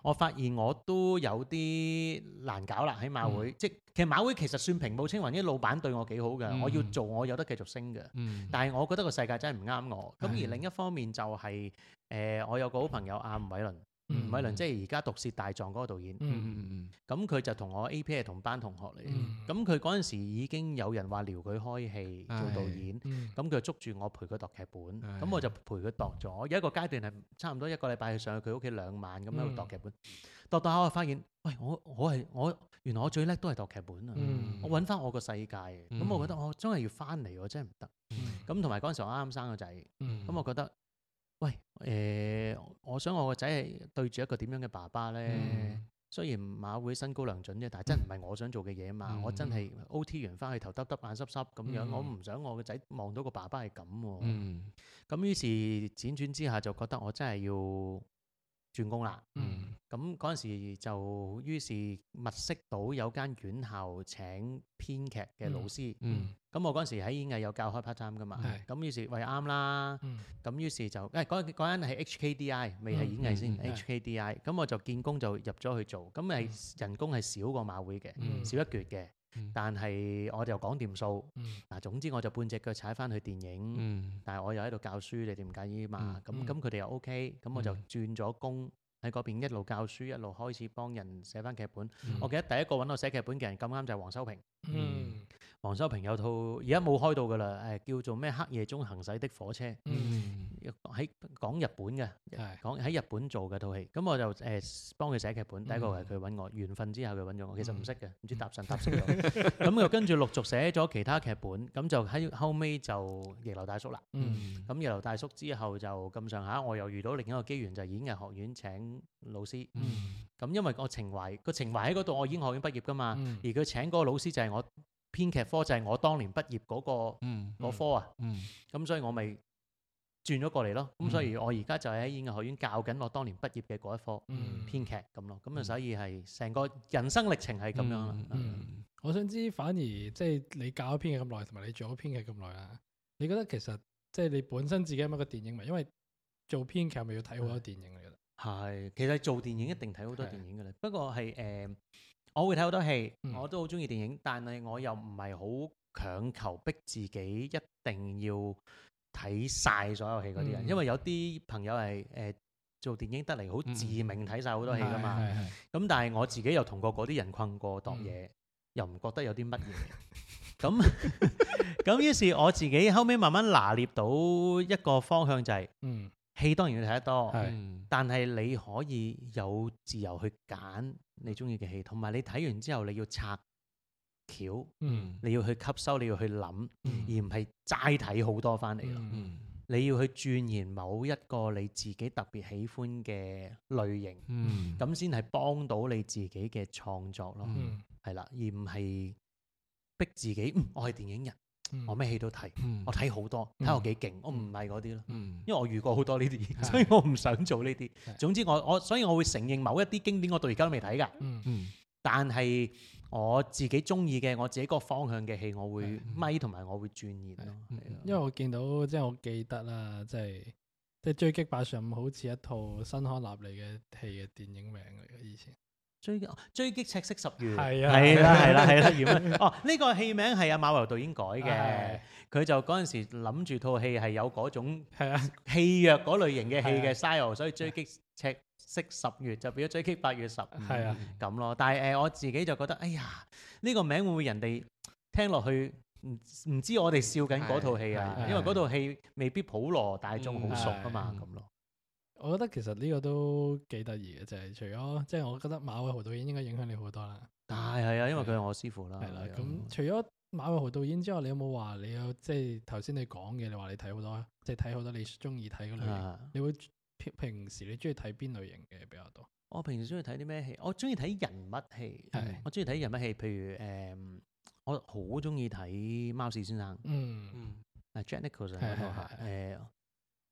我發現我都有啲難搞啦喺馬會， 嗯即係其實馬會其實算平步青雲，啲老闆對我幾好嘅， 嗯我要做我有得繼續升嘅。 嗯但係我覺得個世界真係唔啱我。咁而係另一方面就係、誒、我有個好朋友阿吳偉倫，吳嗯偉倫即係而家《毒舌大狀》嗰個導演。 嗯嗯咁佢就同我 A P 係同班同學嚟嘅。 嗯咁佢嗰陣時已經有人話撩佢開戲做導演。 嗯咁佢就捉住我陪佢度劇本， 係咁我就陪佢度咗。有一個階段係差唔多一個禮拜去上去佢屋企兩晚咁喺度度劇本，度度下我發現，喂，我我係我原來我最叻都係度劇本啊！ 嗯我揾翻我個世界嘅，咁、 嗯我覺得我真係要翻嚟喎，真係唔得。 嗯咁同埋嗰陣時我啱啱生個仔，咁、 嗯我覺得，喂，誒、我想我個仔係對住一個點樣嘅爸爸咧？ 嗯雖然馬會身高良準啫，但係真唔係我想做嘅嘢啊嘛！ 嗯我真係 O T 完翻去頭耷耷眼濕濕咁樣， 嗯我唔想我個仔望到個爸爸係咁喎。 嗯咁於是輾轉之下就覺得我真係要轉工啦。 嗯咁嗰陣時就於是物色到有間院校請編劇嘅老師。 嗯咁我嗰陣時喺演藝有教開 part time 噶嘛。 係咁於是喂啱啦。 嗯咁於是就誒嗰嗰間係 H K D I，未係演藝先嗯嗯 ，H K D I。咁我就見工就入咗去做，咁係人工係少過馬會嘅， 嗯少一橛嘅。 嗯但係我就講掂數。 嗯嗱，總之我就半隻腳踩翻去電影。 嗯但係我又喺度教書，你哋唔介意嘛？咁嗯咁佢哋又 OK，咁我就嗯轉咗工喺嗰邊，一路教書，一路開始幫人寫翻劇本。 嗯我記得第一個揾我寫劇本嘅人咁啱就係黃修平。 嗯黃修平有套而家冇開到㗎啦，誒叫做咩黑夜中行駛的火車， 嗯喺講日本嘅， 係講喺日本做嘅套戲。咁我就誒幫佢寫劇本，第一個係佢揾我，緣分之後佢揾咗我，其實唔識嘅，唔知搭神搭死咗。咁又跟住陸續寫咗其他劇本，咁就喺後尾就逆流大叔啦。 嗯咁逆流大叔之後就咁上下，我又遇到另一個機緣，就係演藝學院請老師。 嗯咁因為我情懷個情懷喺嗰度，我演藝學院畢業噶嘛， 嗯而佢請嗰個老師就係我編劇科，就係我當年畢業嗰、個嗯嗰科啊。 嗯咁所以我咪轉咗過嚟咯。咁所以我而家就喺演藝學院教緊我當年畢業嘅嗰一科嗯編劇咁咯。咁啊，所以係成個人生歷程係咁樣啦。 嗯，我想知反而即係你教咗編劇咁耐，同埋你做咗編劇咁耐啦，你覺得其實即係你本身自己係咪一個電影迷？因為做編劇係咪要睇好多電影嚟㗎？ 係，其實做電影一定睇好多係電影嘅咧。不過係誒、呃我會睇好多戲， 嗯我都好中意電影，但係我又唔係好強求逼自己一定要睇晒所有戲嗰啲人， 嗯因為有啲朋友係誒、呃做電影得嚟好自命睇晒好多戲噶嘛。 係係係咁但係我自己又同過嗰啲人困過度嗯嘢，又唔覺得有啲乜嘢。咁咁於是我自己後尾慢慢拿捏到一個方向就係、 嗯戲當然要睇得多。 係嗯但係你可以有自由去揀你中意嘅戲，同埋你睇完之後你要拆橋， 嗯你要去吸收，你要去諗， 嗯而唔係齋睇好多翻嚟咯。 嗯嗯你要去鑽研某一個你自己特別喜歡嘅類型， 嗯咁先係幫到你自己嘅創作咯。 嗯係啦，而唔係逼自己。嗯，我係電影人， 嗯我咩戲都睇， 嗯我睇好多，睇我幾勁。我唔係嗰啲咯。 嗯因為我遇過好多呢啲， 係所以我唔想做呢啲係。 總之我我所以我會承認某一啲經典我到而家都未睇㗎， 嗯嗯但係我自己中意嘅我自己個方向嘅戲，我會係咪同埋我會鑽研咯。 嗯係啊因為我見到即係我記得啦，即係即係追擊八十五好似一套新康納利嘅戲嘅電影名嚟嘅，以前追擊追擊赤色十月係啊係啦係啦係啦，原來哦呢個戲名係阿馬維導演改嘅係， 佢就嗰陣時諗住套戲係有嗰種係啊， 戲約嗰類型嘅戲係啊嘅 style，所以追擊赤色十月就變咗追擊八月十五。 係啊， 咁咯。但係誒、呃我自己就覺得，哎呀，呢、個名會唔會人哋聽落去唔唔知我哋笑緊嗰套戲啊？ 係係因為嗰套戲未必普羅大眾好熟啊嘛， 嗯咁咯。 我覺得其實呢個都幾得意嘅，就係除咗即係我覺得馬偉豪導演應該影響你好多啦， 但係係啊，因為佢係我師傅啦。 係啦。 係啊咁除咗馬偉豪導演之外，你有冇話你有即係頭先你講嘅？你話你睇好多，即係睇好多你中意睇嗰類型。 啊你會平平時你中意睇邊類型嘅比較多？ 我平時中意睇啲咩戲？我中意睇人物戲係， 我中意睇人物戲，譬如誒、嗯我好中意睇《貓史先生》 嗯嗯啊，Jack Nicholson 係嗰套係係誒，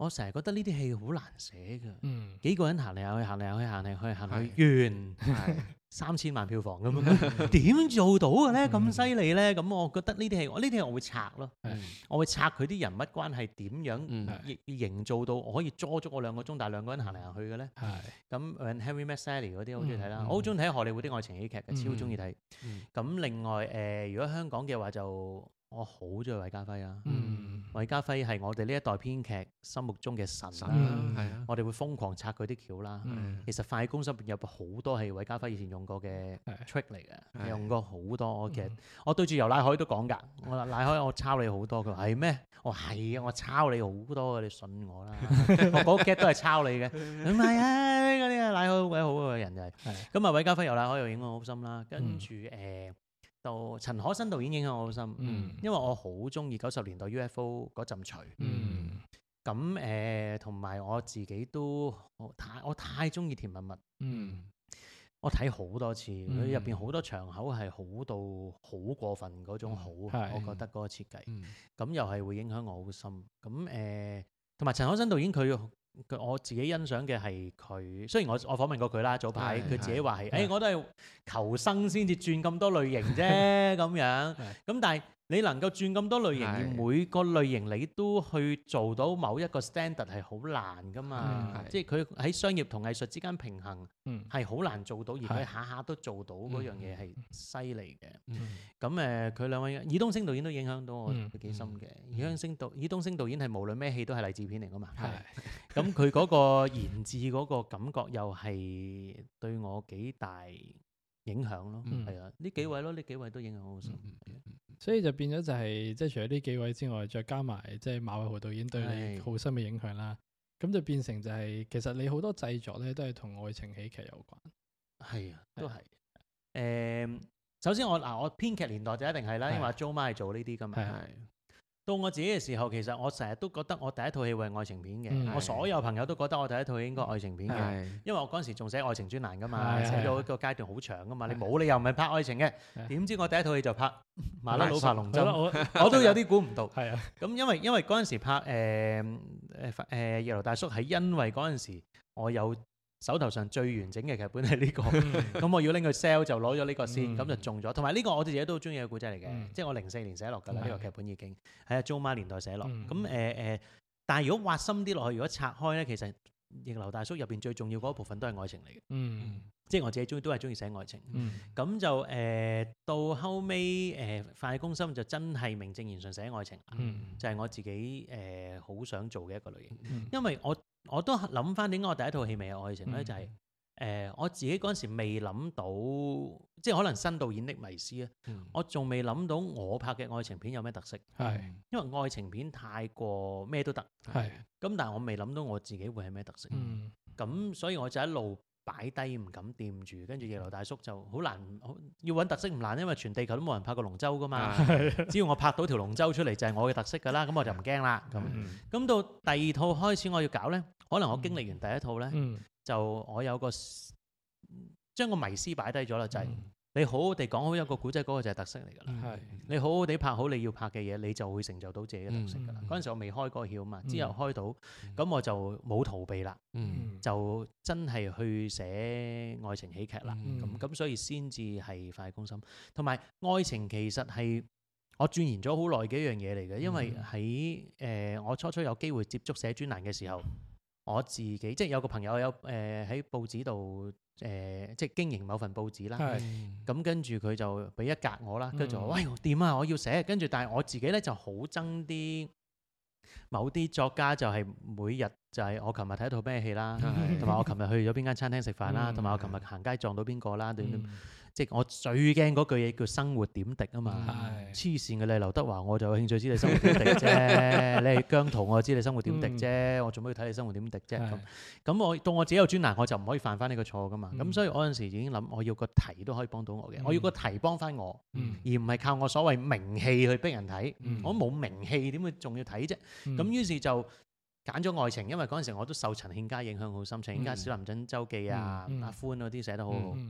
我成日覺得呢啲戲好難寫㗎。 嗯幾個人行嚟行去，行嚟行去，行嚟去行去，完係三千萬票房咁樣，點做到嘅咧？咁嗯犀利咧？咁我覺得呢啲戲，我呢啲戲我會拆咯， 係我會拆佢啲人物關係點樣嗯營營造到我可以捉足我兩個鐘，但係兩個人行嚟行去嘅咧。 係咁 When Harry Met Sally 嗰啲好中意睇啦， 嗯我好中意睇荷里活啲愛情喜劇嘅， 嗯超中意睇。 嗯咁另外誒，如果香港嘅話就我好中意韋家輝啊。 嗯韋家輝係我哋呢一代編劇心目中嘅神神啦， 嗯啦，係啊， 我哋會瘋狂拆佢啲橋啦。 嗯其實《快攻心》入邊有好多係韋家輝以前用過嘅係 trick 嚟嘅， 係用過好多。我其實嗯我對住游乃海都講㗎，我話乃海我抄你好多，佢話係咩？我話係啊，我抄你好多嘅，你信我啦。我嗰 get 都係抄你嘅，唔係啊，嗰啲啊乃海好鬼好嘅人就係。 係咁啊，韋家輝游乃海又影響我好深啦，跟嗯住誒到陳可辛導演影響我好深， 嗯因為我好中意九十年代 U F O 嗰陣除。 嗯咁誒，同埋我自己都我太我太中意甜蜜蜜， 嗯我睇好多次，佢嗯入邊好多場口係好到好過分嗰種好， 係我覺得嗰個設計， 嗯咁又係會影響我好深。咁誒，同埋陳可辛導演佢佢我自己欣賞嘅係佢，雖然我我訪問過佢啦，早排係佢自己話係， 係誒我都係求生先至轉咁多類型啫咁樣， 係咁但係。你能夠轉咁多類型，而係每個類型你都去做到某一個 standard 係好難噶嘛係， 即係佢喺商業同藝術之間平衡嗯係好難做到，而佢係下下都做到嗰樣嘢係犀利嘅。 嗯咁誒，佢兩位爾冬升導演都影響到我嗯幾深嘅。 嗯爾冬升導爾冬升導演係無論咩戲都係勵志片嚟噶嘛， 係咁佢嗰個言志嗰個感覺又係對我幾大影響咯。 嗯係啊，呢幾位咯，呢幾位都影響我好深。 嗯嗯所以就變咗就係即係除咗呢幾位之外，再加埋即係馬偉豪導演對你係好深嘅影響啦。咁就變成就係其實你好多製作咧都係同愛情喜劇有關。 係啊，都係。誒，首先我嗱，我編劇年代就一定係啦，因為阿 Jo 媽係做呢啲噶嘛。 係係到我自己嘅時候，其實我成日都覺得我第一套戲會係愛情片嘅。 嗯我所有朋友都覺得我第一套戲應該愛情片嘅， 係因為我嗰陣時仲寫愛情專欄噶嘛， 係係寫咗一個階段好長噶嘛。你係冇理由唔係拍愛情嘅， 係點知我第一套戲就拍麻甩佬拍龍針， 係咯我我都有啲估唔到。 係啊， 咁因為因為嗰陣時拍誒誒誒夜樓大叔係因為嗰陣時我有手頭上最完整嘅劇本係呢個，咁我要拎去 sell 就攞咗呢個先，咁就中咗。同埋呢個我哋自己都好中意嘅故仔嚟嘅， 嗯即係我零四年寫落㗎啦， 係呢個劇本已經喺阿 Jo 媽年代寫落。 嗯咁誒誒，但係如果挖深啲落去，如果拆開咧，其實逆流大叔入邊最重要嗰一部分都係愛情嚟嘅， 嗯即係我自己中意都係中意寫愛情。 嗯咁就誒到後尾誒快攻心就真係名正言順寫愛情啦， 嗯就係我自己誒好想做嘅一個類型。 嗯因為我我都諗翻點解我第一套戲未有愛情咧， 嗯就係、誒、我自己嗰陣時未諗到，即係可能新導演的迷思啊， 嗯我仲未諗到我拍嘅愛情片有咩特色， 係因為愛情片太過咩都得， 係咁但係我未諗到我自己會係咩特色， 嗯咁、所以我就一路擺低唔敢掂住，跟住逆流大叔就好難，好要揾特色唔難，因為全地球都冇人拍過龍舟噶嘛，只要我拍到條龍舟出嚟就係我嘅特色㗎啦，咁我就唔驚啦，咁嗯咁到第二套開始我要搞呢，可能我經歷完第一套呢。 嗯就我有個將個迷思擺低咗啦，就係、 嗯你好好地講好一個古仔，嗰、個就係特色嚟㗎啦。 係你好好地拍好你要拍嘅嘢，你就會成就到自己嘅特色㗎啦。 嗯嗰陣、時我未開嗰個竅嘛， 嗯之後開到，咁、 嗯我就冇逃避啦， 嗯就真係去寫愛情喜劇啦。 嗯咁咁、所以先至係快攻心，同埋愛情其實係我鑽研咗好耐嘅一樣嘢嚟嘅，因為喺誒、呃我初初有機會接觸寫專欄嘅時候。我自己即係有個朋友有誒喺、報紙度誒即係經營某份報紙啦， 係咁跟住佢就俾一格我啦，跟住我嗯話喂掂啊，我要寫，跟住但係我自己咧就好憎啲某啲作家就係每日就係我琴日睇一套咩戲啦， 係同埋我琴日去咗邊間餐廳食飯啦， 嗯同埋我琴日行街撞到邊個啦，點點嗯即係我最驚嗰句嘢叫生活點滴啊嘛。 係黐線嘅你劉德華，我就有興趣知你生活點滴啫。你係姜濤，我就知你生活點滴啫。我做咩要睇你生活點滴啫？咁係咁我到我自己有專欄，我就唔可以犯翻呢個錯噶嘛。咁、 嗯所以我嗰陣時已經諗，我要個題都可以幫到我嘅。 嗯我要個題幫翻我， 嗯而唔係靠我所謂名氣去逼人睇。 嗯我冇名氣，點會仲要睇啫？咁、 嗯於是就揀咗愛情，因為嗰陣時我都受陳憲嘉影響好深。陳憲嘉、 嗯小林珍周記啊、 嗯嗯阿歡嗰啲寫得好好。 嗯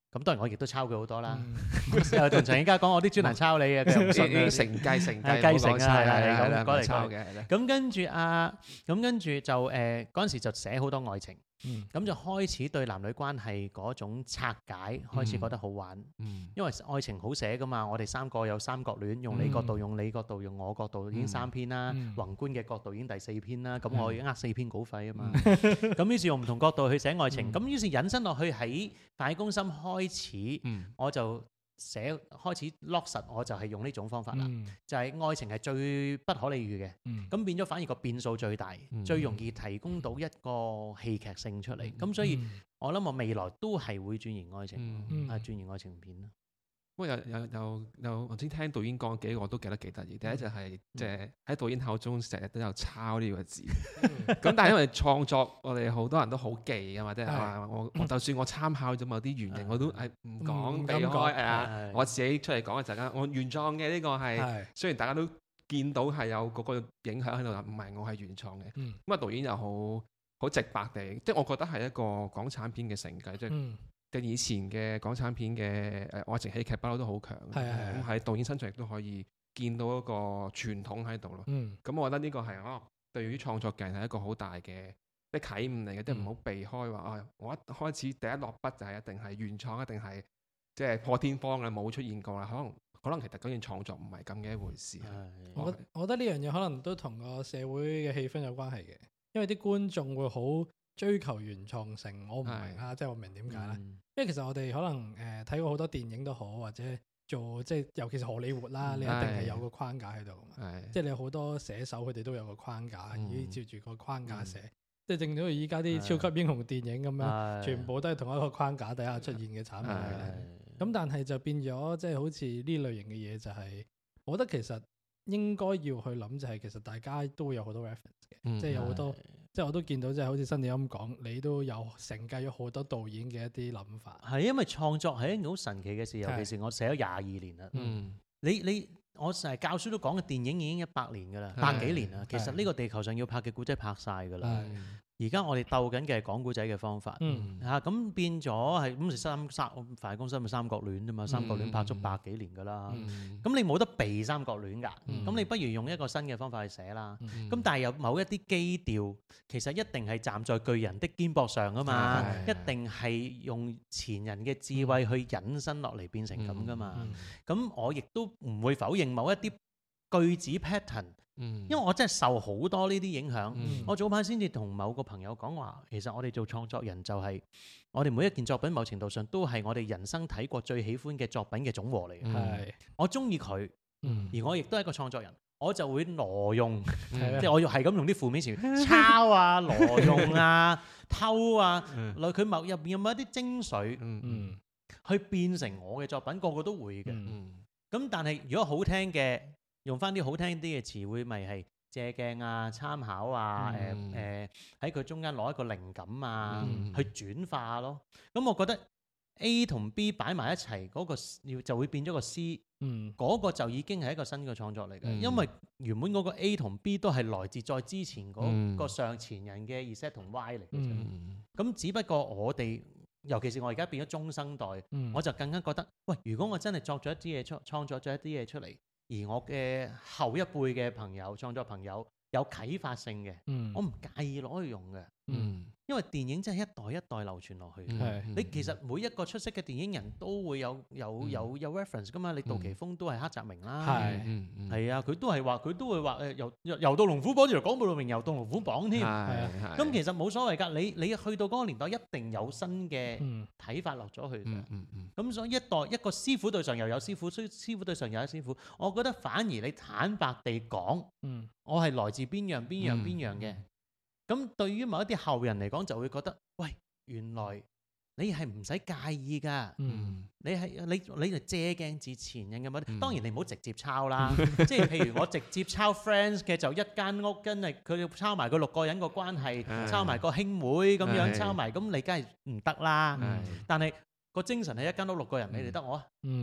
咁當然我亦都抄佢好多啦。 嗯又同陳永嘉講我啲專欄抄你嘅，佢又唔信已經啊。 承繼承繼係繼承啊唔好講抄係啦係係啦， 咁講嚟唔抄講去嘅係啦。 咁跟住啊，咁跟住就誒嗰陣時就寫好多愛情， 嗯咁就開始對男女關係嗰種拆解開始覺得好玩。 嗯因為愛情好寫噶嘛，我哋三個有三角戀，用你角度、用你角度、用我角度已經三篇啦， 嗯宏觀嘅角度已經第四篇啦，咁嗯我已經呃四篇稿費啊嘛，咁於是用唔同角度去寫愛情， 嗯咁於是引申落去喺飯戲攻心開始， 嗯我就寫開始落實，我就係用呢種方法啦， 嗯就係愛情係最不可理喻嘅， 嗯咁變咗反而個變數最大， 嗯最容易提供到一個戲劇性出嚟，咁、 嗯所以嗯我諗我未來都係會轉型愛情， 嗯嗯啊轉型愛情片咯。 不過有有有有，我先聽導演講幾個我都記得幾得意。第一就係即係喺導演口中成日都有抄呢個字，咁但係因為創作，我哋好多人都好忌啊嘛，即係話我我就算我參考咗某啲原型，我都係唔講避唔敢講開係啊係， 我自己出嚟講嘅陣間，我原創嘅呢個係係雖然大家都見到係有嗰個影響喺度，唔係我係原創嘅。 嗯咁啊導演又好好直白地，即係我覺得係一個港產片嘅承繼，即係。 嗯嘅以前嘅港產片嘅誒愛情喜劇不嬲都好強， 係係係咁喺導演身上亦都可以見到一個傳統喺度咯。 嗯咁我覺得呢個係哦，對於創作嘅人係一個好大嘅即係啟悟嚟嘅，即係唔好避開話啊！我一開始第一落筆就係一定係原創，一定係即係破天荒嘅冇出現過啦。可能可能其實嗰件創作唔係咁嘅一回事。 我覺我覺得呢樣嘢可能都同個社會嘅氣氛有關係嘅，因為啲觀眾會好追求原創性，我唔明啊，即係我明點解咧？ 嗯因為其實我哋可能誒睇過好多電影都好，或者做即係尤其是荷里活啦， 嗯你一定係係有個框架喺度嘛。 係即係你有好多寫手佢哋都有個框架， 嗯依照住個框架嗯寫。即係正如依家啲超級英雄電影咁樣， 係全部都係同一個框架底下出現嘅產品嚟嘅。 係咁但係就變咗，即係好似呢類型嘅嘢就係，我覺得其實應該要去諗就係，其實大家都會有好多 reference 嘅， 嗯即係有好多，即係我都見到，即係好似新電咁講，你都有承繼咗好多導演嘅一啲諗法。 係因為創作係一件好神奇嘅事，尤係其是我寫咗廿二年啦。 嗯你你我成日教書都講嘅電影已經一百年㗎啦， 係百幾年啦。其實係呢個地球上要拍嘅古仔拍晒㗎啦。 係嗯而家我哋鬥緊嘅係講古仔嘅方法。 嗯嚇咁變咗係咁三三飯戲攻心咪三角戀啫嘛，三角戀拍足百幾年㗎啦。 嗯咁你冇得避三角戀㗎， 嗯咁你不如用一個新嘅方法去寫啦。 嗯咁但係有某一啲基調，其實一定係站在巨人的肩膊上啊嘛， 係一定係用前人嘅智慧去引申落嚟變成咁噶嘛。 嗯咁我亦都唔會否認某一啲句子 pattern， 嗯因為我真係受好多呢啲影響。 嗯我早排先至同某個朋友講話，其實我哋做創作人就係我哋每一件作品，某程度上都係我哋人生睇過最喜歡嘅作品嘅總和嚟嘅。 嗯係我中意佢， 嗯而我亦都係一個創作人，我就會挪用。 嗯即係我係咁用啲負面詞抄啊、挪用啊、偷啊， 嗯來佢某入邊有冇一啲精髓嗯嗯去變成我嘅作品，個個都會嘅。 嗯嗯咁但係如果好聽嘅，用翻啲好聽啲嘅詞彙，咪係借鏡啊、參考啊、誒嗯誒喺佢中間攞一個靈感啊， 嗯去轉化咯。咁我覺得 A 同 B 擺埋一齊嗰個要就會變咗個 C。 嗯嗰個就已經係一個新嘅創作嚟嘅， 嗯因為原本嗰個 A 同 B 都係來自再之前嗰嗯個上前人嘅 Z 同 Y 嚟嘅啫。 嗯咁、只不過我哋，尤其是我而家變咗中生代， 嗯我就更加覺得，喂，如果我真係作咗一啲嘢出，創作咗一啲嘢出嚟，而我嘅後一輩嘅朋友、創作朋友有啟發性嘅， 嗯我唔介意攞去用嘅， 嗯因為電影真係一代一代流傳落去。 嗯係你其實每一個出色嘅電影人都會有有嗯有有 reference 噶嘛，你杜琪峰都係黑澤明啦， 係嗯嗯係啊，佢都係話佢都會話誒遊遊遊到龍虎榜，原來講到明遊到龍虎榜添。 係咁其實冇所謂㗎，你你去到嗰個年代一定有新嘅嗯睇法落咗去㗎。 嗯嗯嗯咁所以一代一個師傅對上又有師傅，師師傅對上又有師傅。我覺得反而你坦白地講， 嗯我係來自邊樣邊樣嗯邊樣嘅。咁對於某一啲後人嚟講，就會覺得，喂，原來你係唔使介意㗎。 嗯你係你你就借鏡自前人嘅乜？ 嗯當然你唔好直接抄啦，即係譬如我直接抄 Friends 嘅就一間屋，跟住佢哋抄埋個六個人個關係， 係抄埋個兄妹咁樣係抄埋，咁你梗係唔得啦。 係但係個精神係一間屋六個人，你哋得我啊？ 嗯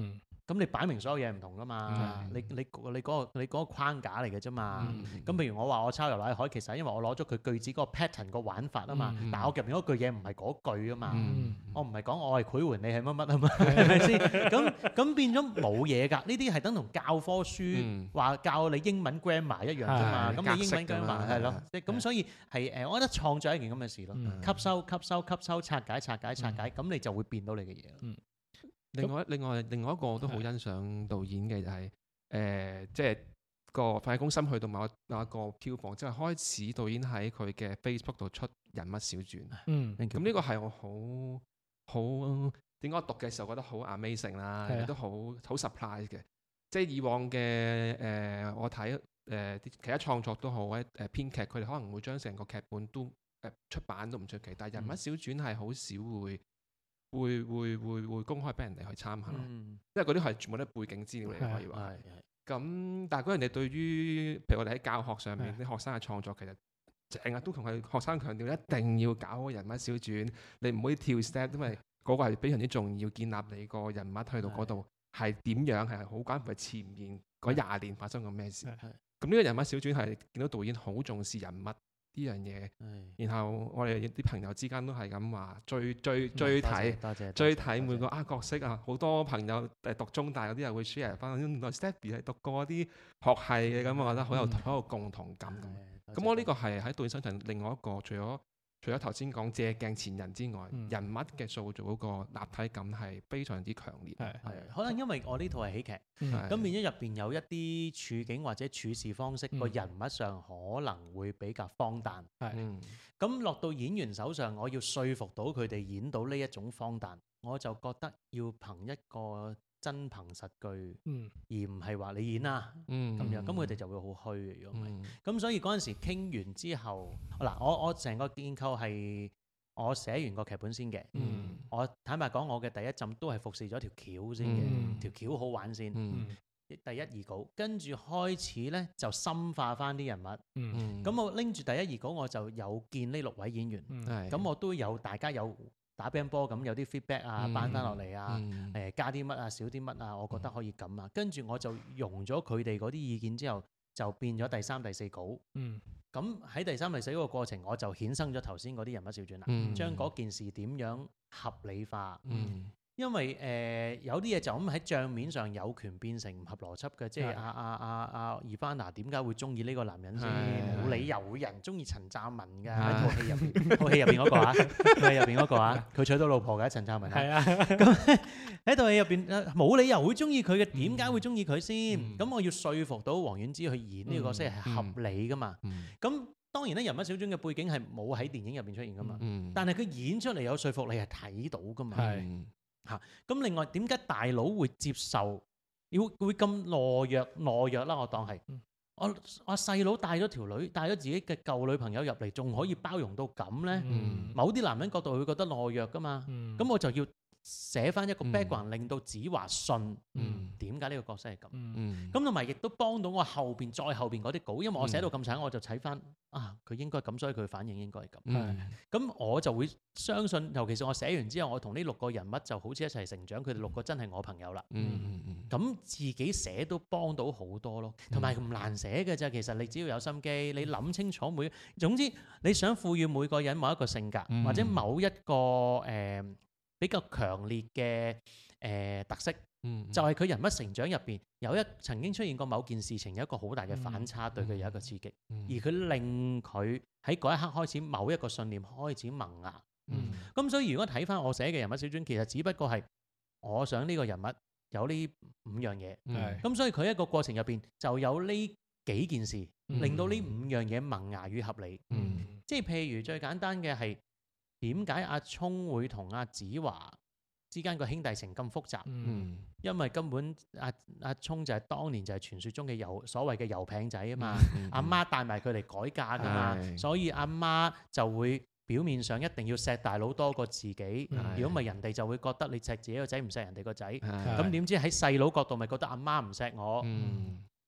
咁你擺明所有嘢唔同噶嘛？ 嗯你你你嗰、個你嗰個框架嚟嘅啫嘛。 嗯咁譬如我話我抄游乃海，其實係因為我攞咗佢句子嗰個 pattern 個玩法啊嘛。 嗯但係我入邊嗰句嘢唔係嗰句啊嘛。 嗯我唔係講我係繪桓，你係乜乜啊嘛，係咪先？咁咁變咗冇嘢㗎。呢啲係等同教科書話教你英文 grammar 一樣啫嘛。 係咁你英文格式㗎嘛 grammar 係咯係， 即係咁所以係誒，我覺得創作係一件咁嘅事咯。 嗯吸收、吸收、吸收、拆解、拆解、拆解，咁你就會變到你嘅嘢咯。 另外另外另外一個我都好欣賞導演嘅就係、誒，即係個《飯戲攻心》去到某一某一個票房，即係開始導演喺佢嘅 Facebook 度出人物小傳。 嗯咁呢個係我好好點解我讀嘅時候覺得好 amazing 啦， 係啊亦都好好 surprise 嘅。即係以往嘅誒、呃我睇誒啲其他創作都好，或者誒編劇佢哋可能會將成個劇本都誒、呃出版都唔出奇，但係人物小傳係好少會。會會會會公開俾人哋去參考， 嗯， 因為嗰啲係全部都係背景資料嚟， 係可以話。 係係。 咁但係嗰人哋對於譬如我哋喺教學上面啲學生嘅創作，其實成日都同佢學生強調一定要搞個人物小傳，你唔可以跳 step，因為嗰個係非常之重要，建立你個人物去到嗰度係點樣係好關乎係前面嗰廿年發生過咩事。 係咁呢個人物小傳係見到導演好重視人物呢樣嘢， 係。 然後我哋啲朋友之間都係咁話追追追多謝睇。 多謝追多謝睇每個啊角色啊，好多朋友誒讀中大嗰啲人會 share 翻，原來 Stephy 係讀過啲學系嘅，咁我覺得好有嗯好有共同感咁。 係咁我呢個係喺導演身上另外一個，除咗除咗頭先講借鏡前人之外， 嗯人物嘅塑造嗰個立體感係非常之強烈。 係係可能因為我呢套係喜劇， 嗯係咁變咗入邊有一啲處境或者處事方式，個嗯人物上可能會比較荒誕。 係嗯咁落到演員手上，我要說服到佢哋演到呢一種荒誕，我就覺得要憑一個真憑實據， 嗯而唔係話你演啦嗯咁樣，咁佢哋就會好虛嘅。如果唔係， 嗯咁所以嗰陣時傾完之後，嗱我我成個建構係我寫完個劇本先嘅。 嗯我坦白講，我嘅第一陣都係服侍咗條橋先嘅， 嗯條橋好玩先。 嗯嗯第一二稿，跟住開始咧就深化翻啲人物。 嗯嗯咁我拎住第一二稿，我就有見呢六位演員。 嗯係咁我都有大家有打乒乓波咁，有啲 feedback 啊， 嗯扳翻落嚟啊， 嗯誒加啲乜啊，少啲乜啊，我覺得可以咁啊。跟住我就用咗佢哋嗰啲意見之後，就變咗第三、第四稿。 嗯咁喺第三、第四嗰個過程，我就衍生咗頭先嗰啲人物小傳啦， 嗯將嗰件事點樣合理化。 嗯因為誒、呃、有啲嘢就咁喺帳面上有權變成唔合邏輯嘅，即係係阿阿阿阿 Ivana 點解會中意呢個男人先？ 係冇理由會有人中意陳湛文㗎， 係喺套戲入邊，套戲入邊嗰個啊，套戲入邊嗰個啊，佢娶到老婆嘅陳湛文啊。 係啊， 咁喺套戲入邊呃冇理由會中意佢嘅，點解會中意佢先？ 嗯咁我要說服到黃婉之去演呢個角色係合理㗎嘛？ 嗯咁當然咧，人物小傳嘅背景係冇喺電影入邊出現㗎嘛， 嗯但係佢演出嚟有說服力係睇到㗎嘛。 係嗯咁另外點解大佬會接受，要會咁懦弱懦弱啦？我當係嗯我我細佬帶咗條女，帶咗自己嘅舊女朋友入嚟，仲可以包容到咁呢？ 嗯某啲男人角度會覺得懦弱噶嘛。 嗯咁我就要寫翻一個嗯 background，令到子華信嗯點解呢個角色係咁。 嗯嗯咁同埋亦都幫到我後邊再後邊嗰啲稿，因為我寫到咁慘，我就睇翻啊，佢應該咁，所以佢反應應該係咁。 嗯咁我就會相信，尤其是我寫完之後，我同呢六個人物就好似一齊成長，佢哋六個真係我朋友啦。 嗯嗯咁自己寫都幫到好多咯，同埋唔難寫嘅啫。其實你只要有心機，你諗清楚每，總之你想賦予每個人某一個性格， 嗯或者某一個誒、呃比較強烈嘅誒、呃特色， 嗯就係、佢人物成長入邊有一曾經出現過某件事情，有一個好大嘅反差，對佢有一個刺激， 嗯而佢令佢喺嗰一刻開始某一個信念開始萌芽。 嗯咁所以如果睇翻我寫嘅人物小傳，其實只不過係我想呢個人物有呢五樣嘢， 係咁所以佢一個過程入邊就有呢幾件事， 嗯令到呢五樣嘢萌芽與合理。 嗯即係譬如最簡單嘅係點解阿聰會同阿子華之間個兄弟情咁複雜？ 嗯嗯因為根本阿阿聰就係當年就係傳說中嘅油所謂嘅油餅仔啊嘛， 嗯阿媽帶埋佢嚟改嫁噶嘛， 係所以阿媽就會表面上一定要錫大佬多過自己， 嗯如果唔係人哋就會覺得你錫自己個仔唔錫人哋個仔， 係咁點知喺細佬角度咪覺得阿媽唔錫我， 嗯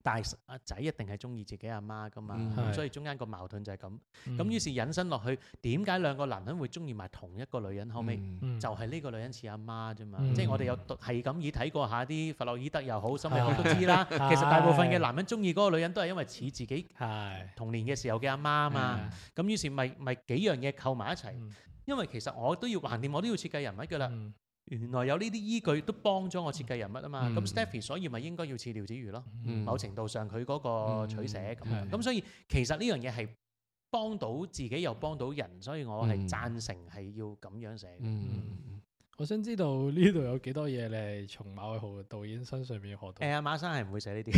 但係阿仔一定係中意自己阿媽噶嘛， 嗯咁係所以中間個矛盾就係咁。咁嗯於是引申落去，點解兩個男人會中意埋同一個女人？後尾嗯嗯就係呢個女人似阿媽啫嘛。 嗯即係我哋有讀係咁以睇過下啲弗洛伊德又好，心理學係都知啦。 係其實大部分嘅男人中意嗰個女人都係因為似自己係童年嘅時候嘅阿媽啊嘛。咁於是咪咪幾樣嘢扣埋一齊。 嗯因為其實我都要橫掂，我都要設計人物㗎啦。 嗯原來有呢啲依據都幫咗我設計人物啊嘛。 嗯咁 Stephy 所以咪應該要似廖子瑜咯。 嗯某程度上佢嗰個取捨咁樣。 嗯咁所以其實呢樣嘢係幫到自己又幫到人，所以我係贊成係要咁樣寫嘅。 嗯我想知道呢度有幾多嘢你係從馬偉豪導演身上面學到？ 誒阿馬生係唔會寫呢啲。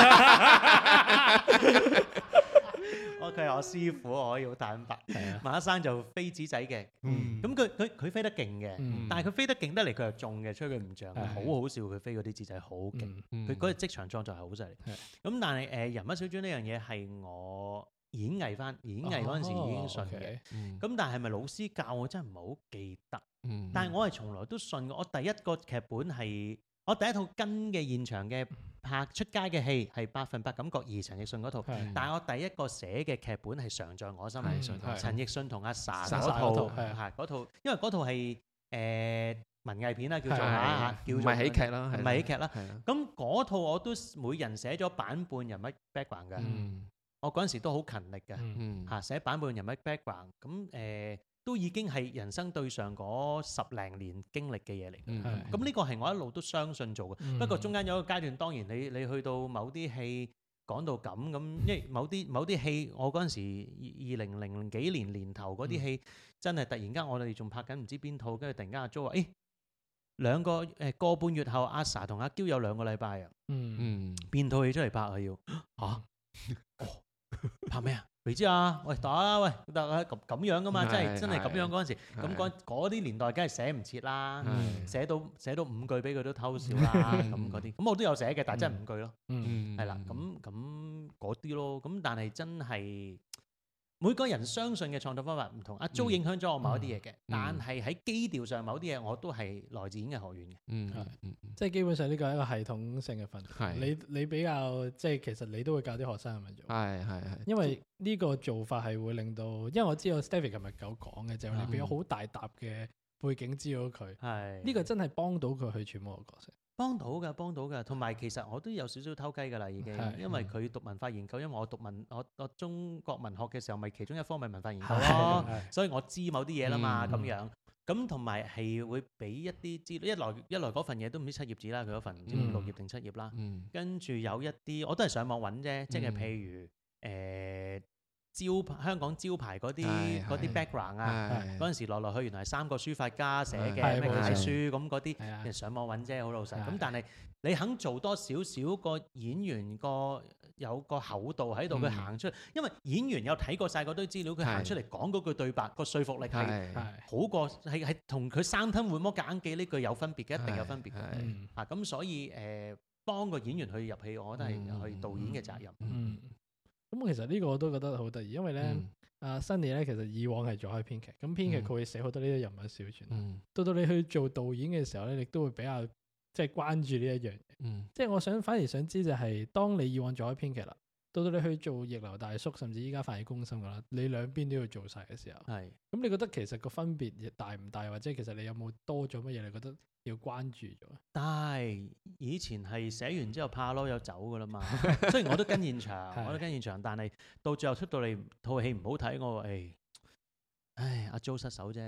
我佢係我師傅，我要坦白。 係啊， 馬生就飛紙仔嘅， 嗯咁佢佢佢飛得勁嘅， 嗯但係佢飛得勁得嚟佢又中嘅，所以佢唔漲， 係好好笑佢飛嗰啲紙仔好勁。 嗯佢嗰隻職場創作係好犀利。 係咁但係誒人物小傳呢樣嘢係我演藝翻演藝嗰陣時已經信哦嘅。 ，OK 嗯咁但係咪老師教我真係唔係好記得。 嗯但係我係從來都信嘅。我第一個劇本係我第一套跟嘅現場嘅拍出街嘅戲係百分百感覺二陳奕迅嗰套。 係但係我第一個寫嘅劇本係常在我心係裏。 常在我心陳奕迅同阿 sa ，sa 嗰套嗰套係啊係嗰套，因為嗰套係誒文藝片啦，叫做係嚇，叫唔做係喜劇啦， 唔係喜劇啦。 係啦， 咁嗰套我都每人寫咗版本人物 background 嘅。 嗯我嗰陣時都好勤力嘅嗯嗯嚇，寫版本人物 background。咁誒都已經係人生對上嗰十零年經歷嘅嘢嚟。 嗯係咁呢個係我一路都相信做嘅。 嗯不過中間有一個階段，當然你你去到某啲戲講到咁咁，因為某啲某啲戲，我嗰陣時二零零幾年年頭嗰啲戲，真係突然間我哋仲拍緊唔知邊套，跟住突然間阿 Jo 話：誒兩個誒個半月後，阿 sa 同阿嬌有兩個禮拜啊， 嗯嗯變套戲出嚟拍啊要嚇，哦拍咩啊？未知啊？喂打啦喂，得啊咁咁樣噶嘛，真係係真係咁樣嗰陣時， 係咁嗰嗰啲年代梗係寫唔切啦。 嗯寫到寫到五句俾佢都偷笑啦，咁嗰啲，咁我都有寫嘅，但係真係五句咯， 嗯嗯係啦，咁咁嗰啲咯，咁但係真係每個人相信嘅創作方法唔同，阿 Jo 影響咗我某一啲嘢嘅，但係喺基調上某啲嘢我都係來自演藝學院嘅。 嗯係嗯即係基本上呢個係一個系統性嘅訓練。 係你你比較即係其實你都會教啲學生咁樣做。 係係係， 因為呢個做法係會令到，因為我知道 Stephy 琴日有講嘅，就係你俾咗好大沓嘅背景資料佢， 係呢個真係幫到佢去揣摩個角色。 幫到㗎，幫到㗎，同埋其實我都有少少偷雞㗎啦，已經， 係因為佢讀文化研究，因為我讀文我我中國文學嘅時候，咪其中一科咪文化研究咯。 係所以我知某啲嘢啦嘛， 嗯咁樣咁同埋係會俾一啲資料，一來一來嗰份嘢都唔知七頁紙啦，佢嗰份唔知嗯六頁定七頁啦， 嗯跟住有一啲我都係上網揾啫，即係嗯譬如誒招牌香港招牌嗰啲係嗰啲係 background 啊， 係嗰陣時來來去原來係三個書法家寫嘅係冇咩幾錯書咁嗰啲， 係啊其實上網揾啫，好老實。 係咁但係你肯做多少少個演員個有個厚度喺度，佢嗯行出嚟，因為演員有睇過晒嗰堆資料，佢行係出嚟講嗰句對白，個說服力係係係好過係係同佢生吞活剝夾硬記呢句有分別嘅，一定有分別嘅。 係嗯啊，咁所以誒幫個演員去入戲，我覺得係嗯係導演嘅責任。 嗯，咁其實呢個我都覺得好得意，因為咧嗯阿 Sunny 咧其實以往係做開編劇，咁編劇嗯佢會寫好多呢啲人物小傳， 嗯到到你去做導演嘅時候咧，你都會比較即係關注呢一樣嘢。 嗯即係我想反而想知就係，當你以往做開編劇啦，到到你去做逆流大叔，甚至依家反而公心噶啦，你兩邊都要做晒嘅時候， 係咁你覺得其實個分別大唔大，或者其實你有冇多咗乜嘢？你覺得要關注咗？ 但係以前係寫完之後怕咯，有走噶啦嘛。雖然我都跟現場， 係我都跟現場，但係到最後出到嚟套戲唔好睇，我話誒，唉，阿 Jo 失手啫，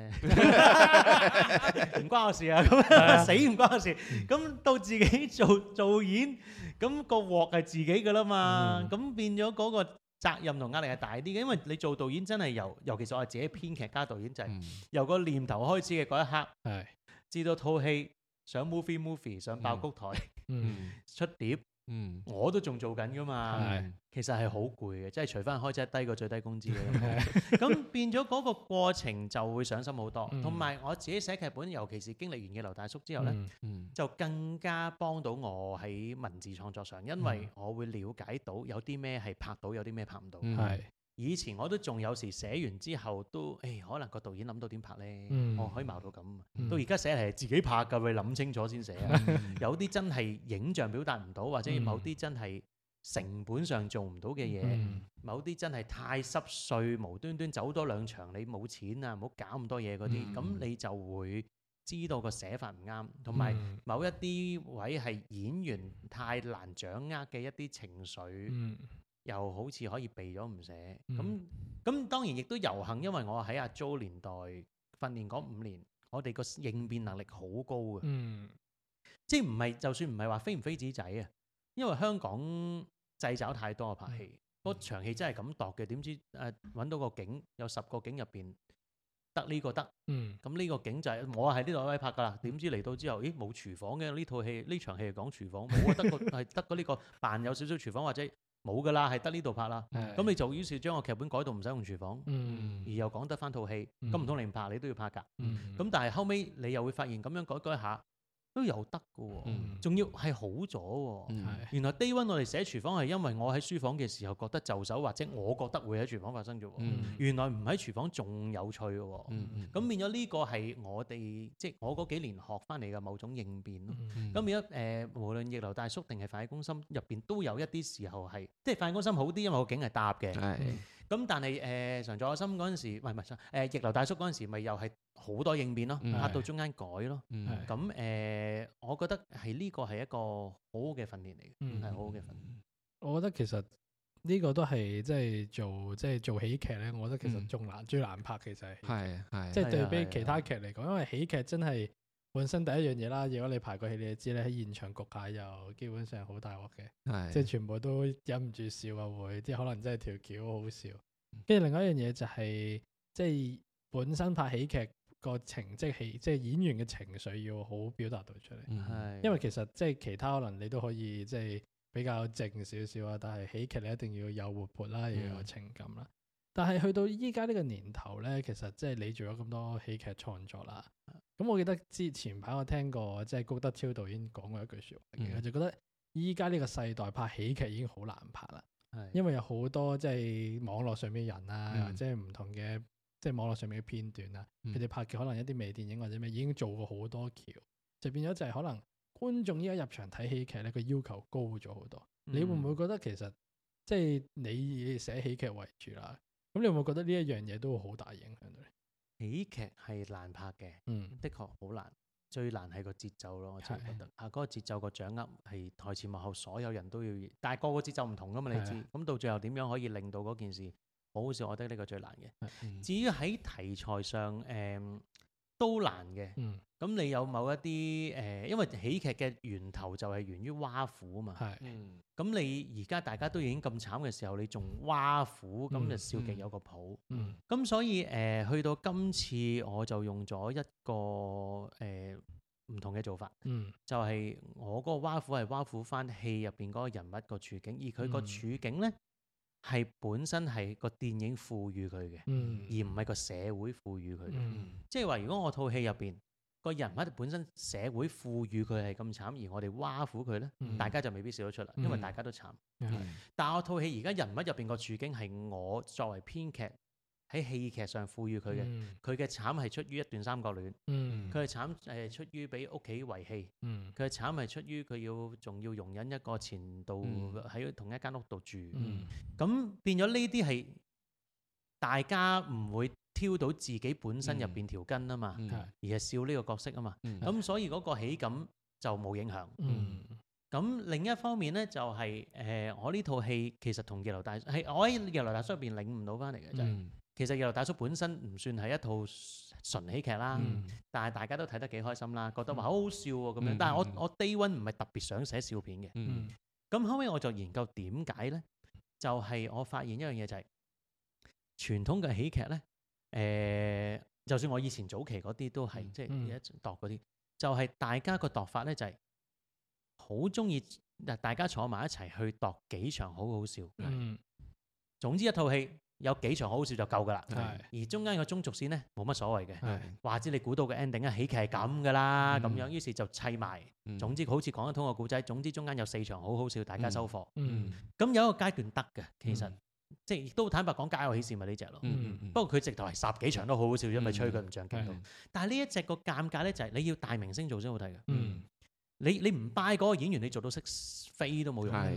唔關我事啊，咁死唔關我事。咁到自己做做演，咁個鑊係自己噶啦嘛，咁變咗嗰個責任同壓力係大啲嘅，因為你做導演真係由，尤其是我係自己編劇加導演，就係嗯由個念頭開始嘅嗰一刻， 係， 至到套戲上 movie movie 上爆谷台嗯， 出碟， 嗯我都仲做緊噶嘛。 係其實係好攰嘅，即係除翻開車低過最低工資嘅。咁變咗嗰個過程就會上心好多， 嗯同埋我自己寫劇本，尤其是經歷完嘅劉大叔之後呢， 嗯嗯就更加幫到我喺文字創作上，因為我會了解到有啲咩係拍到，有啲咩拍唔到。 嗯係， 以前我都仲有時寫完之後都，誒可能個導演諗到點拍呢？ 嗯我可以矛到咁。 嗯到而家寫嚟係自己拍㗎，你諗清楚先寫啊。有啲真係影像表達唔到，或者某啲真係成本上做唔到嘅嘢， 嗯某啲真係太濕碎，無端端走多兩場你冇錢啊，唔好搞咁多嘢嗰啲，咁、 嗯你就會知道個寫法唔啱，同埋嗯某一啲位係演員太難掌握嘅一啲情緒， 嗯又好似可以避咗唔寫。咁嗯咁、當然亦都有幸，因為我喺阿 Jo 年代訓練嗰五年，我哋個應變能力好高嘅。 嗯即係唔係就算唔係話飛唔飛紙仔啊，因為香港掣肘太多啊拍戲，嗰、場戲真係咁度嘅，點知誒揾、到個景有十個景入邊得呢個得， 嗯咁呢個景就係、我係呢度位拍㗎啦，點知嚟到之後，咦冇廚房嘅呢套戲呢場戲係講廚房，冇啊，得個係得個呢個扮有少少廚房或者冇㗎啦，係得呢度拍啦， 係咁你就於是將個劇本改到唔使用廚房， 嗯而又講得翻套戲， 嗯咁唔通你唔拍你都要拍㗎， 嗯咁但係後尾你又會發現咁樣改改下都有得㗎喎。 嗯仲要係好咗喎。 嗯係原來 day one 我哋寫廚房係因為我喺書房嘅時候覺得就手，或者我覺得會喺廚房發生啫喎。 嗯原來唔喺廚房仲有趣嘅喎。 嗯嗯咁變咗呢個係我哋即係我嗰幾年學翻嚟嘅某種應變咯。 嗯咁變咗誒，無論逆流大叔定係飯戲攻心入邊都有一啲時候係，即係飯戲攻心好啲，因為個景係搭嘅。 係咁但係誒常在我心嗰陣時，唔係唔係誒逆流大叔嗰陣時，咪又係好多應變咯， 嗯拍到中間改咯。 嗯係咁誒、呃我覺得係呢個係一個好好嘅訓練嚟嘅， 嗯係好好嘅訓練。 我覺得其實呢個都係即係做即係做喜劇咧，我覺得其實嗯仲難，最難拍其實係喜劇係係即係對係啊係啊比其他劇嚟講，因為喜劇真係本身第一樣嘢啦。如果你排過戲，你就知咧喺現場焗下又基本上好大鑊嘅， 係即係全部都忍唔住笑啊會，即係可能真係條橋好好笑。跟住另外一樣嘢就係、即係本身拍喜劇個情即係戲即係演員嘅情緒要好表達到出嚟。 嗯係因為其實即係其他可能你都可以即係比較靜少少啊，但係喜劇你一定要有活潑啦，要有情感啦。但係去到依家呢個年頭咧，其實即係你做咗咁多喜劇創作啦。咁我記得之前排我聽過即係高德超導演講過一句説話嘅，佢、 嗯就覺得依家呢個世代拍喜劇已經好難拍啦， 係因為有好多即係網絡上面嘅人啊， 嗯或者係唔同嘅即係網絡上面嘅片段啊， 嗯佢哋拍嘅可能一啲微電影或者咩已經做過好多橋，就變咗就係可能觀眾依家入場睇喜劇咧，個要求高咗好多。你會唔會覺得其實即係你以寫喜劇為主啦？咁你會唔會覺得呢一樣嘢都會好大影響到你？ 喜劇係難拍嘅， 嗯的確好難。最難係個節奏咯，我真係覺得啊，嗰、個節奏個掌握係台前幕後所有人都要，但係個個節奏唔同噶嘛，你知。 係咁到最後點樣可以令到嗰件事好好笑？我覺得呢個最難嘅。 嗯至於喺題材上，誒、都難嘅。 嗯咁你有某一啲誒、因為喜劇嘅源頭就係源於挖苦啊嘛。 係嗯咁你而家大家都已經咁慘嘅時候，你仲挖苦，咁嗯就笑極有個譜。 嗯咁、所以誒、呃去到今次我就用咗一個誒唔、同嘅做法， 嗯就係、我嗰個挖苦係挖苦翻戲入邊嗰個人物個處境，而佢個嗯處境呢，係本身係個電影賦予佢嘅， 嗯而唔係個社會賦予佢嘅。 嗯即係話，如果我套戲入邊個人物本身社會賦予佢係咁慘，而我哋挖苦佢呢， 嗯大家就未必笑得出啦，因為嗯大家都慘。 係但我套戲而家人物入邊個處境係我作為編劇喺戲劇上賦予佢嘅， 嗯佢嘅慘係出於一段三角戀， 嗯佢嘅慘誒出於俾屋企遺棄， 嗯佢嘅慘係出於佢要仲要容忍一個前度嗯喺同一間屋度住， 嗯咁變咗呢啲係大家唔會挑到自己本身入邊條筋啊嘛， 嗯係而係笑呢個角色啊嘛， 嗯咁所以嗰個喜感就冇影響。 嗯咁另一方面咧，就係、誒、我呢套戲其實同《逆流大叔》係我喺《逆流大叔》入邊領悟到翻嚟嘅，就係、 嗯其實《逆流大叔》本身唔算係一套純喜劇啦， 嗯但係大家都睇得幾開心啦，覺得話好好笑喎咁樣。 嗯但係我嗯我 day one 唔係特別想寫笑片嘅， 嗯咁後尾我就研究點解咧，就係、我發現一樣嘢就係、傳統嘅喜劇咧，誒、就算我以前早期嗰啲都係、 嗯即係嗯一度嗰啲，就係、大家個度法咧就係好中意嗱，大家坐埋一齊去度幾場好好笑。 嗯總之一套戲有幾場好好笑就夠㗎啦。 係而中間個中軸線咧冇乜所謂嘅， 係話知你估到嘅 ending 啊，喜劇係咁㗎啦，咁、 嗯樣於是就砌埋。 嗯總之好似講得通個故仔，總之中間有四場好好笑，大家收貨。 嗯咁、有一個階段得嘅，其實、 嗯即係亦都坦白講，家有喜事咪呢只咯。 嗯嗯不過佢直頭係十幾場都好好笑，因為吹佢唔上鏡度。 係但係呢一隻個尷尬咧，就係你要大明星做先好睇嘅。 嗯你你唔 buy 嗰個演員，你做到識飛都冇用。 係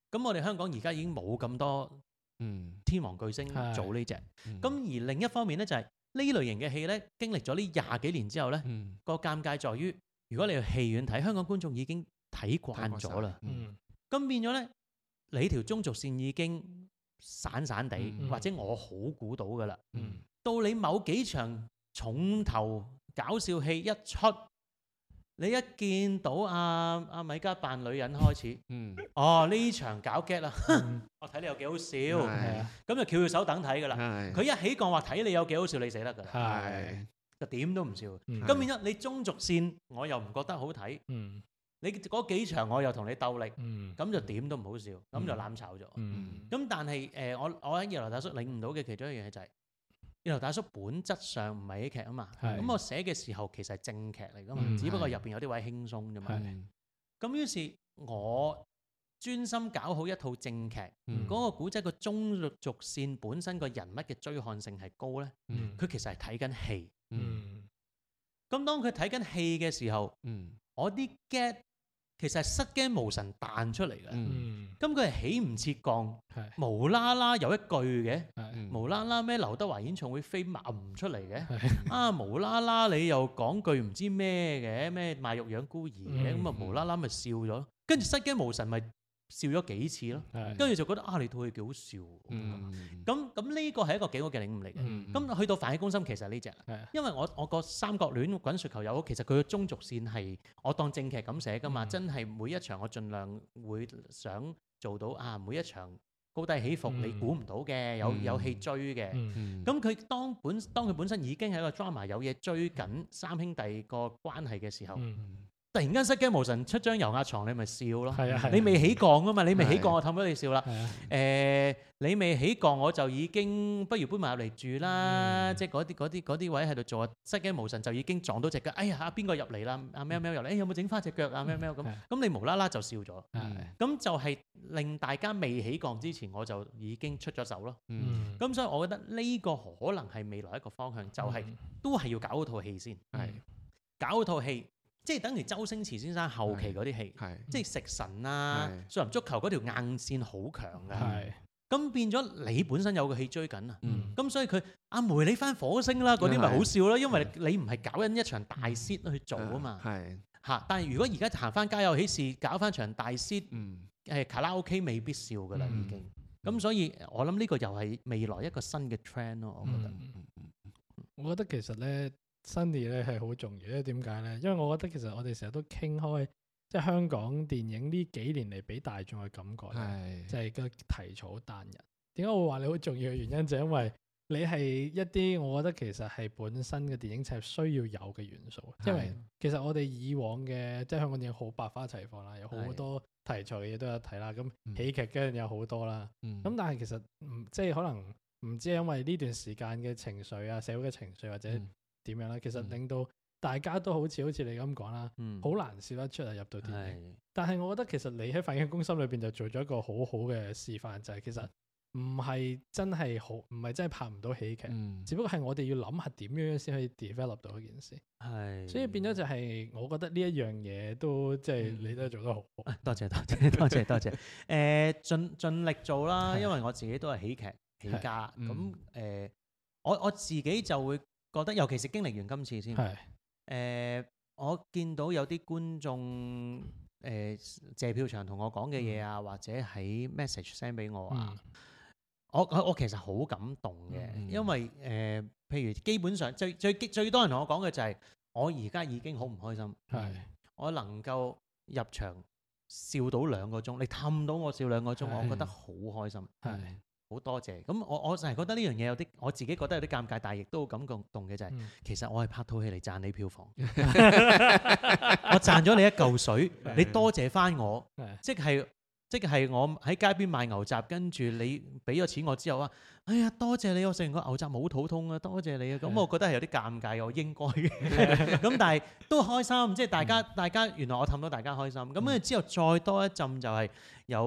咁我哋香港而家已經冇咁多嗯天王巨星係做呢只。 嗯咁而另一方面咧，就係呢類型嘅戲咧，經歷咗呢廿幾年之後咧， 嗯個尷尬在於，如果你去戲院睇，香港觀眾已經睇慣咗啦。 嗯嗯咁變咗咧，你條中軸線已經散散地， 嗯或者我好估到㗎啦。 嗯到你某幾場重頭搞笑戲一出，你一見到阿阿米迦扮女人開始， 嗯哦呢場搞 get 啦， 嗯我睇你有幾好笑， 係啊咁就翹住手等睇㗎啦。 係佢一起講話睇你有幾好笑，你死得㗎啦， 係就點都唔笑。 嗯咁變咗你中軸線，我又唔覺得好睇， 嗯你嗰幾場我又同你鬥力， 嗯咁就點都唔好笑，咁就攬炒咗。 嗯咁但係誒、呃，我我喺二樓大叔領悟到嘅其中一樣嘢就係、二樓大叔本質上唔係喜劇啊嘛。 係咁我寫嘅時候其實係正劇嚟噶嘛， 嗯只不過入係邊有啲位輕鬆啫嘛。 係咁於是我專心搞好一套正劇，嗰、 嗯個古仔個中軸線本身個人物嘅追看性係高咧， 嗯佢其實係睇緊戲。 嗯嗯咁當佢睇緊戲嘅時候， 嗯我啲 get 其實係失驚無神彈出嚟嘅。 嗯嗯咁佢係起唔切降， 係無啦啦有一句嘅。 係嗯無啦啦咩劉德華演唱會飛賣唔出嚟嘅， 係啊無啦啦你又講句唔知咩嘅，咩賣肉養孤兒嘅， 嗯咁啊無啦啦咪笑咗，跟住失驚無神咪笑咗幾次咯， 係跟住就覺得啊你套戲幾好笑喎， 嗯咁咁呢個係一個幾好嘅領悟嚟嘅。 嗯咁去到飯戲攻心其實係呢只， 係因為我我個三角戀滾雪球又好，其實佢嘅中軸線係我當正劇咁寫噶嘛， 嗯真係每一場我盡量會想做到啊每一場高低起伏嗯你估唔到嘅，有有戲追嘅。 嗯嗯咁佢當本當佢本身已經係一個 drama 有嘢追緊三兄弟個關係嘅時候， 嗯突然間失驚無神出張油壓床，你咪笑咯。 係啊係啊你未起降啊嘛，你未起係降我氹咗你笑啦。 係啊誒、你未起降我就已經不如搬埋入嚟住啦， 嗯即係嗰啲嗰啲嗰啲位喺度做啊，失驚無神就已經撞到隻腳，哎呀啊邊個入嚟啦？阿喵喵入嚟，誒有冇整翻隻腳啊？喵喵咁， 係咁你無啦啦就笑咗， 係咁就係令大家未起降之前我就已經出咗手咯。 嗯咁所以我覺得呢個可能係未來一個方向，就係、都係要搞好套戲先， 係搞好套戲，即係等於周星馳先生後期嗰啲戲， 係即係食神啊、 係少林足球嗰條硬線好強㗎。 係咁變咗你本身有個戲追緊啊， 嗯咁所以佢阿梅你翻火星啦，嗰啲咪係好笑咯，因為你唔係搞緊一場大 set 去做啊嘛係嚇。但係如果而家行翻家有喜事，搞翻場大 set， 嗯誒卡拉 OK 未必笑噶啦嗯已經。咁所以我諗呢個又係未來一個新嘅 trend 咯，我覺得。 嗯我覺得其實咧，Sunny 咧係好重要，因為點解咧？因為我覺得其實我哋成日都傾開，即係香港電影呢幾年嚟俾大眾嘅感覺咧， 係就係個題材好單一。點解我會話你好重要嘅原因，就係因為你係一啲我覺得其實係本身嘅電影係需要有嘅元素。因為其實我哋以往嘅即係香港電影好百花齊放啦，有好多題材嘅嘢都有睇啦。咁嗯喜劇嘅有好多啦。 咁咁但係其實唔即係可能唔知係因為呢段時間嘅情緒啊、社會嘅情緒或者點樣啦，其實嗯令到大家都好似好似你咁講啦， 嗯， 好難笑得出啊入到電影。 係但係我覺得其實你喺《飯戲攻心》裏邊就做咗一個好好嘅示範，就係、其實唔係真係好，唔係真係拍唔到喜劇， 嗯只不過係我哋要諗下點樣先可以 develop 到嗰件事。 係。 所以變咗就係我覺得呢一樣嘢都即係你都做得好好。 啊多謝多謝多謝多謝。誒盡盡力做啦， 係因為我自己都係喜劇起家， 嗯咁誒我我自己就會覺得，尤其是經歷完今次先。 係誒，我見到有啲觀眾誒謝票場同我講嘅嘢啊，或者喺 message send 俾我啊， 嗯我我我其實好感動嘅， 嗯因為誒，譬如基本上最最最多人同我講嘅就係，我而家已經好唔開心， 係我能夠入場笑到兩個鐘，你氹到我笑兩個鐘， 係我覺得好開心， 係好多謝。咁我我就係覺得呢樣嘢有啲，我自己覺得有啲尷尬，但係亦都好感動嘅就係， 嗯其實我係拍套戲嚟賺你票房，我賺咗你一嚿水，你多謝翻我。 係即係即係我喺街邊賣牛雜，跟住你俾咗錢我之後啊，哎呀多謝你，我食完個牛雜冇肚痛啊，多謝你啊，咁我覺得係有啲尷尬，我應該嘅，咁但係都開心，即係大家大家原來我氹到大家開心，咁跟住之後再多一陣就係有啲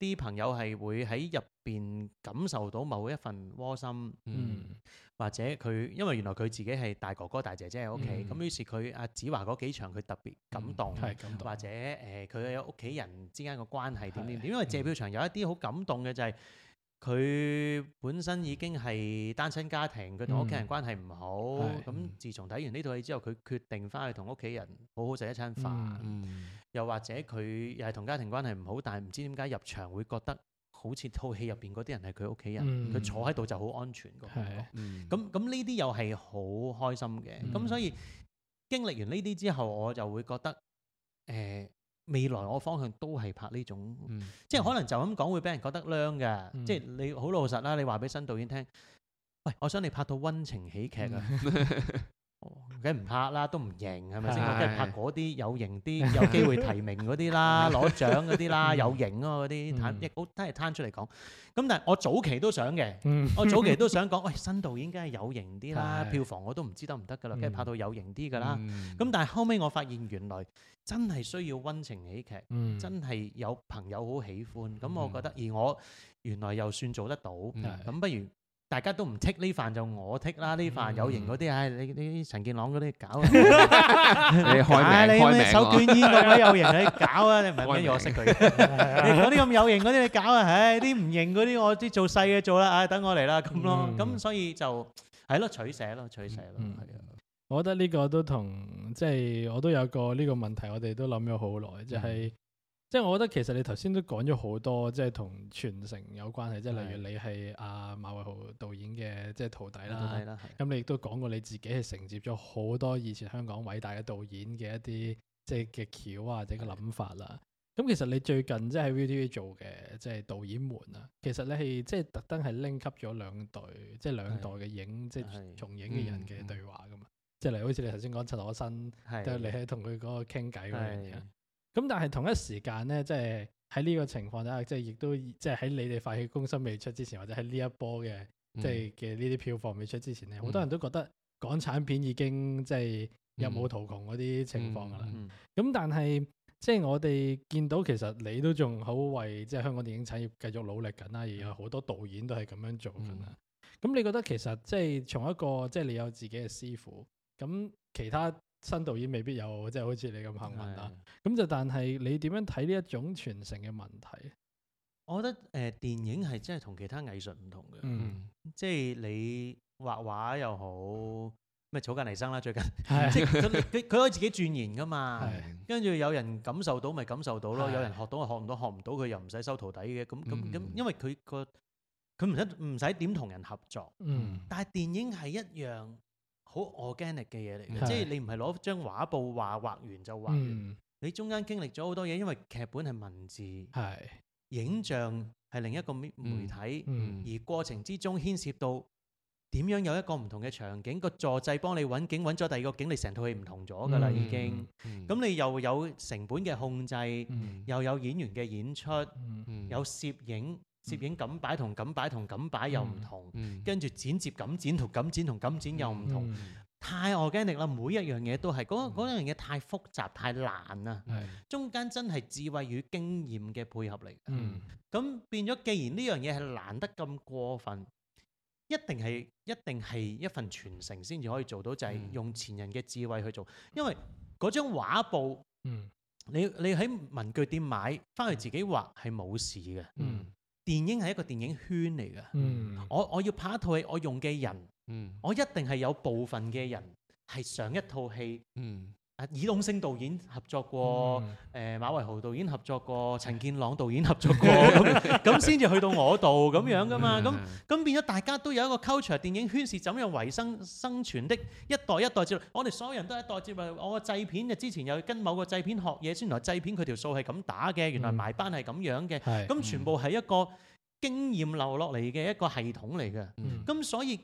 啲朋友係會喺入邊感受到某一份窩心， 嗯或者佢因為原來佢自己係大哥哥大姐姐喺屋企，咁、 嗯於是佢阿子華嗰幾場佢特別感動， 係感動或者誒佢有屋企人之間嘅關係點點係點，因為謝票場有一啲好感動嘅就係、佢本身已經係單親家庭，佢同屋企人關係唔好。 係咁、 嗯自從睇完呢套戲之後，佢決定翻去同屋企人好好食一餐飯。 嗯嗯又或者佢又係同家庭關係唔好，但係唔知點解入場會覺得好似套戲入邊嗰啲人係佢屋企人，佢、 嗯坐喺度就好安全個感覺。 係嗯咁咁呢啲又係好開心嘅。咁、 嗯所以經歷完呢啲之後，我就會覺得誒、呃未來我方向都係拍呢種。 嗯即係可能就咁講會俾人覺得娘嘅， 嗯即係你好老實啦。你話俾新導演聽，喂，我想你拍到溫情喜劇啊，哦梗係唔拍啦，都唔型係咪先？ 係我梗係拍嗰啲有型啲、有機會提名嗰啲啦，攞獎嗰啲啦， 嗯有型啊嗰啲，攤嗯亦好都係攤出嚟講。咁但係我早期都想嘅， 嗯我早期都想講，喂，新導演梗係有型啲啦， 係票房我都唔知得唔得㗎啦，梗係嗯拍到有型啲㗎啦。 嗯咁但係後尾我發現原來真係需要溫情喜劇。 嗯真係有朋友好喜歡，咁我覺得，而我原來又算做得到，咁、 嗯不如大家都唔剔呢飯就我剔啦，呢飯有型嗰啲，唉、你你陳健朗嗰啲搞啊， 你開啊你名開名咩手喎捲煙嗰位有型你搞啊，你唔係開名跟住我識佢，你嗰啲咁有型嗰啲你搞啊，唉啲唔型嗰啲我啲做細嘅做啦，唉等我嚟啦咁咯， 嗯咁所以就係咯取捨咯取捨咯， 嗯係啊， 我覺得呢個都同即係我都有個呢個問題，我哋都諗咗好耐，就係、即係我覺得其實你頭先都講咗好多，即係同傳承有關係，即係例如你係阿馬偉豪導演嘅即係徒弟啦， 到底啦，係咁你亦都講過你自己係承接咗好多以前香港偉大嘅導演嘅一啲即係嘅橋啊或者嘅諗法啦。咁其實你最近即係喺 V T V 做嘅即係導演們啊，其實你係即係特登係拎級咗兩代，即係兩代嘅影即係係從影嘅人嘅對話噶嘛。即係例如好似你頭先講陳可辛，都係你係喺同佢嗰個傾偈嗰樣嘢係。 咁但係同一時間咧，即係喺呢個情況底下，即係亦都即係喺你哋發起公心未出之前，或者喺呢一波嘅即係嘅呢啲票房未出之前咧，好、多人都覺得港產片已經即係入冇途窮嗰啲情況㗎啦。咁、 嗯但係即係我哋見到其實你都仲好為即係香港電影產業繼續努力緊啦，而有好多導演都係咁樣做緊啦。咁、你覺得其實即係從一個即係你有自己嘅師傅，咁其他新導演未必有即係好似你咁幸運啦。咁就但係你點樣睇呢一種傳承嘅問題？ 我覺得誒、呃、電影係真係同其他藝術唔同嘅。 嗯， 即係你畫畫又好，咩草間彌生啦最近， 係即係佢佢佢可以自己鑽研噶嘛。 係跟住有人感受到咪感受到咯， 係有人學到就學唔到，學唔到佢又唔使收徒弟嘅。咁咁咁嗯， 因為佢個佢唔使唔使點同人合作。 嗯但係電影係一樣好 organic 嘅嘢嚟嘅， 係即係你唔係攞張畫布畫畫完就畫完， 嗯你中間經歷咗好多嘢，因為劇本係文字， 係影像係另一個媒媒體。 嗯而過程之中牽涉到點樣有一個唔同嘅場景，個助制幫你揾景，揾咗第二個景，你成套戲唔同咗㗎啦嗯已經。咁你又有成本嘅控制， 嗯又有演員嘅演出， 嗯有攝影，攝影咁擺同咁擺同咁擺又唔同，跟住剪接咁剪同咁剪同咁剪又唔同， 嗯太 organic 啦！每一樣嘢都係嗰嗰樣嘢太複雜太難啦， 係中間真係智慧與經驗嘅配合嚟嘅。 嗯咁變咗，既然呢樣嘢係難得咁過分，一定係一定係一份傳承先至可以做到，就係、 嗯用前人嘅智慧去做。因為嗰張畫布， 嗯你你喺文具店買翻去自己畫係冇事嘅。 嗯電影係一個電影圈嚟嘅。 嗯我我要拍一套戲，我用嘅人， 嗯我一定係有部分嘅人係上一套戲。 嗯啊，爾冬升導演合作過，誒、 嗯馬維豪導演合作過，陳健朗導演合作過，咁咁先至去到我度咁樣噶嘛，咁咁變咗大家都有一個 culture，電影圈是怎樣維生生存的，一代一代接落，我哋所有人都係一代接落。我個製片就之前又跟某個製片學嘢，先原來製片佢條數係咁打嘅，原來埋班係咁樣嘅， 係咁全部係一個經驗留落嚟嘅一個系統嚟嘅， 嗯咁所以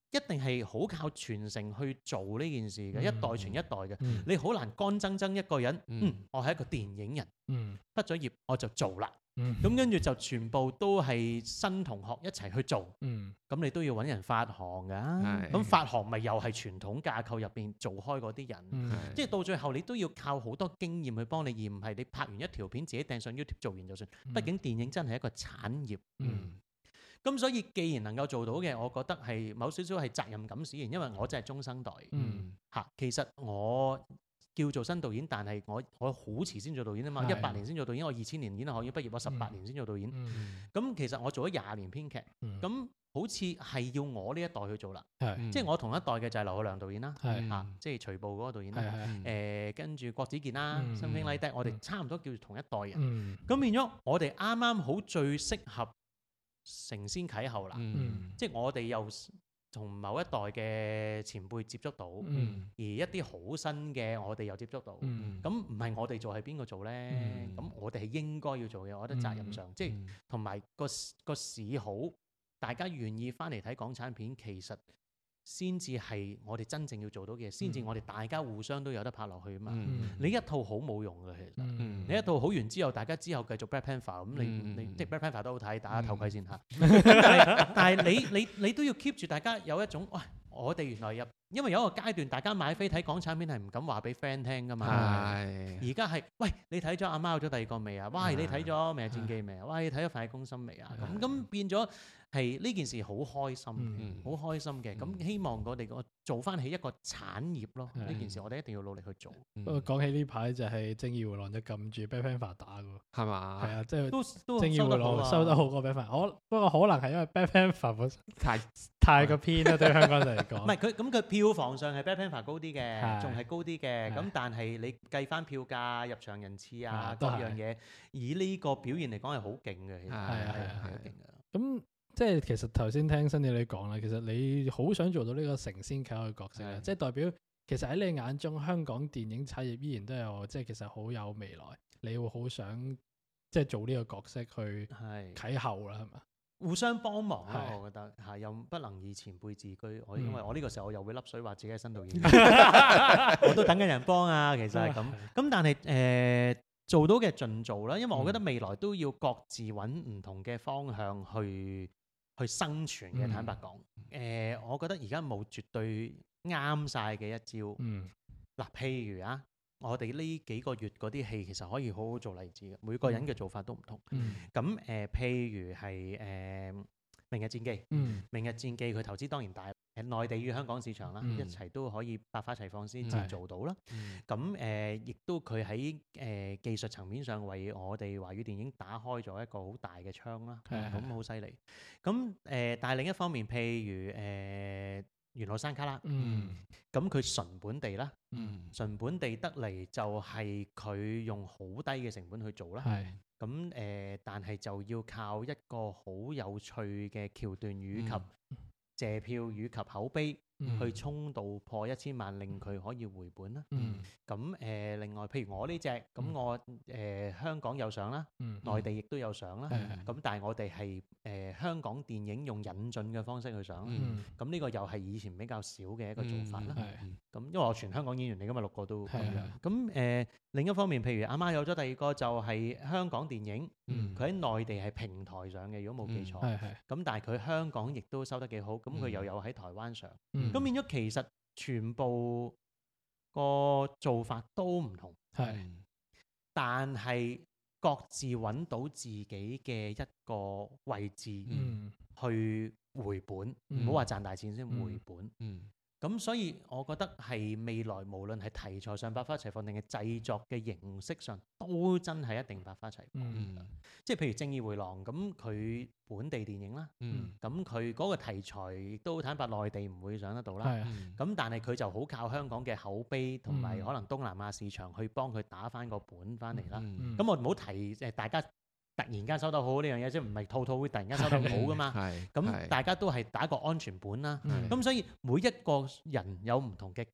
一定係好靠傳承去做呢件事嘅， 嗯一代傳一代嘅。 嗯你好難乾爭爭一個人， 嗯嗯，我係一個電影人， 嗯畢咗業我就做啦。 嗯咁跟住就全部都係新同學一齊去做， 嗯咁你都要揾人發行㗎。 係咁發行咪又係傳統架構入邊做開嗰啲人， 嗯係即係到最後你都要靠好多經驗去幫你，而唔係你拍完一條片自己掟上 YouTube 做完就算。畢竟電影真係一個產業。 嗯咁所以既然能夠做到嘅，我覺得係某少少係責任感使然，因為我真係中生代嗯嚇。其實我叫做新導演，但係我我好遲先做導演啊嘛， 係一八年先做導演，我二千年演藝學院畢業，我十八年先做導演。 嗯咁其實我做咗廿年編劇， 嗯咁好似係要我呢一代去做啦。 係即係我同一代嘅就係劉浩良導演啦， 係嚇，即係徐步嗰個導演啦。 係係誒，跟住郭子健啦， 嗯 Something Like That，我哋嗯差唔多叫做同一代人。 嗯咁變咗我哋啱啱好最適合承先啟後啦。 嗯即係我哋又同某一代嘅前輩接觸到， 嗯而一啲好新嘅我哋又接觸到。 嗯咁唔係我哋做係邊個做呢？ 嗯咁我哋係應該要做嘅，我覺得責任上，即係同埋個個市好，大家願意翻嚟睇港產片，其實先至係我哋真正要做到嘅嘢，先至我哋大家互相都有得拍落去啊嘛。 嗯你一套好冇用嘅，其實。 嗯你一套好完之後，大家之後繼續 Black Panther 咁，你嗯你即係 Black Panther 都好睇，打下頭盔先嚇。咁但係但係你你你都要 keep 住大家有一種，喂，我哋原來入，因為有一個階段，大家買飛睇港產片係唔敢話俾 friend 聽噶嘛。 係而家係，喂，你睇咗阿媽有咗第二個未啊？喂，你睇咗《明日戰記》未啊？喂，你睇咗《飯戲攻心》未啊？咁咁變咗係呢件事好開心嘅， 嗯好開心嘅。咁希望我哋個做翻起一個產業咯。呢件事我哋一定要努力去做。 不過講起呢排就係正義回廊就撳住 Black Panther 打嘅喎， 係嘛？ 係啊，即係都都正義回廊收得好過 Black Panther。我不過可能係因為 Black Panther 本身太太過偏啦，對香港人嚟講。 唔係佢咁佢票房上係 Black Panther 高啲嘅， 係仲係高啲嘅。 係咁但係你計翻票價、入場人次啊啊都係各樣嘢，以呢個表現嚟講係好勁嘅，其實係係係係好勁嘅。 咁即係其實頭先聽新嘢你講啦，其實你好想做到呢個承先啟後嘅角色咧， 係即係代表其實喺你眼中香港電影產業依然都有即係其實好有未來，你會好想即係做呢個角色去係啟後啦，係嘛？ 互相幫忙咯， 係我覺得嚇又不能以前輩自居。我嗯因為我呢個時候我又會笠水話自己係新導演，我都等緊人幫啊。其實係咁。咁但係誒、呃做到嘅盡做啦，因為我覺得未來都要各自揾唔同嘅方向去去生存嘅。 嗯坦白講，誒、我覺得而家冇絕對啱晒嘅一招。 嗯嗱，譬如啊，我哋呢幾個月嗰啲戲其實可以好好做例子嘅，每個人嘅做法都唔同。 嗯咁誒、呃譬如係誒、呃明日戰記》，《 嗯明日戰記》佢投資當然大，誒內地與香港市場啦， 嗯一齊都可以百花齊放先至係做到啦。 嗯咁誒，亦都佢喺誒技術層面上為我哋華語電影打開咗一個好大嘅窗啦。 係係咁好犀利。咁誒，但係另一方面，譬如誒元老山卡啦， 嗯咁佢純本地啦， 嗯純本地得嚟就係佢用好低嘅成本去做啦。 係咁誒、呃但係就要靠一個好有趣嘅橋段與及謝票與及口碑， 嗯去衝到破一千萬，令佢可以回本啦。 嗯咁誒、呃另外譬如我呢只，咁嗯我誒、呃香港有上啦， 嗯內地亦都有上啦。 係係咁但係我哋係誒香港電影用引進嘅方式去上啦。 嗯咁呢、個又係以前比較少嘅一個做法啦。 係咁因為我全香港演員嚟噶嘛，六個都咁係樣。咁誒、呃另一方面，譬如阿媽有咗第二個就係香港電影， 嗯佢喺內地係平台上嘅，如果冇記錯。 係係咁但係佢香港亦都收得幾好，咁佢又有喺台灣上。 嗯咁變咗其實全部個做法都唔同， 係但係各自揾到自己嘅一個位置嗯去回本， 嗯唔好話賺大錢先嗯回本。 嗯咁所以我覺得係未來無論係題材上百花齊放，定係製作嘅形式上，都真係一定百花齊放。 嗯嗯即係譬如《正義回廊》咁，佢本地電影啦， 嗯咁佢嗰個題材亦都坦白內地唔會上得到啦。 係嗯咁但係佢就好靠香港嘅口碑同埋嗯可能東南亞市場去幫佢打翻個本翻嚟啦。 嗯咁我唔好提誒大家突然間收得好呢樣嘢，即係唔係套套會突然間收得好噶嘛。 係咁大家都係打個安全本啦。 嗯咁所以每一個人有唔同嘅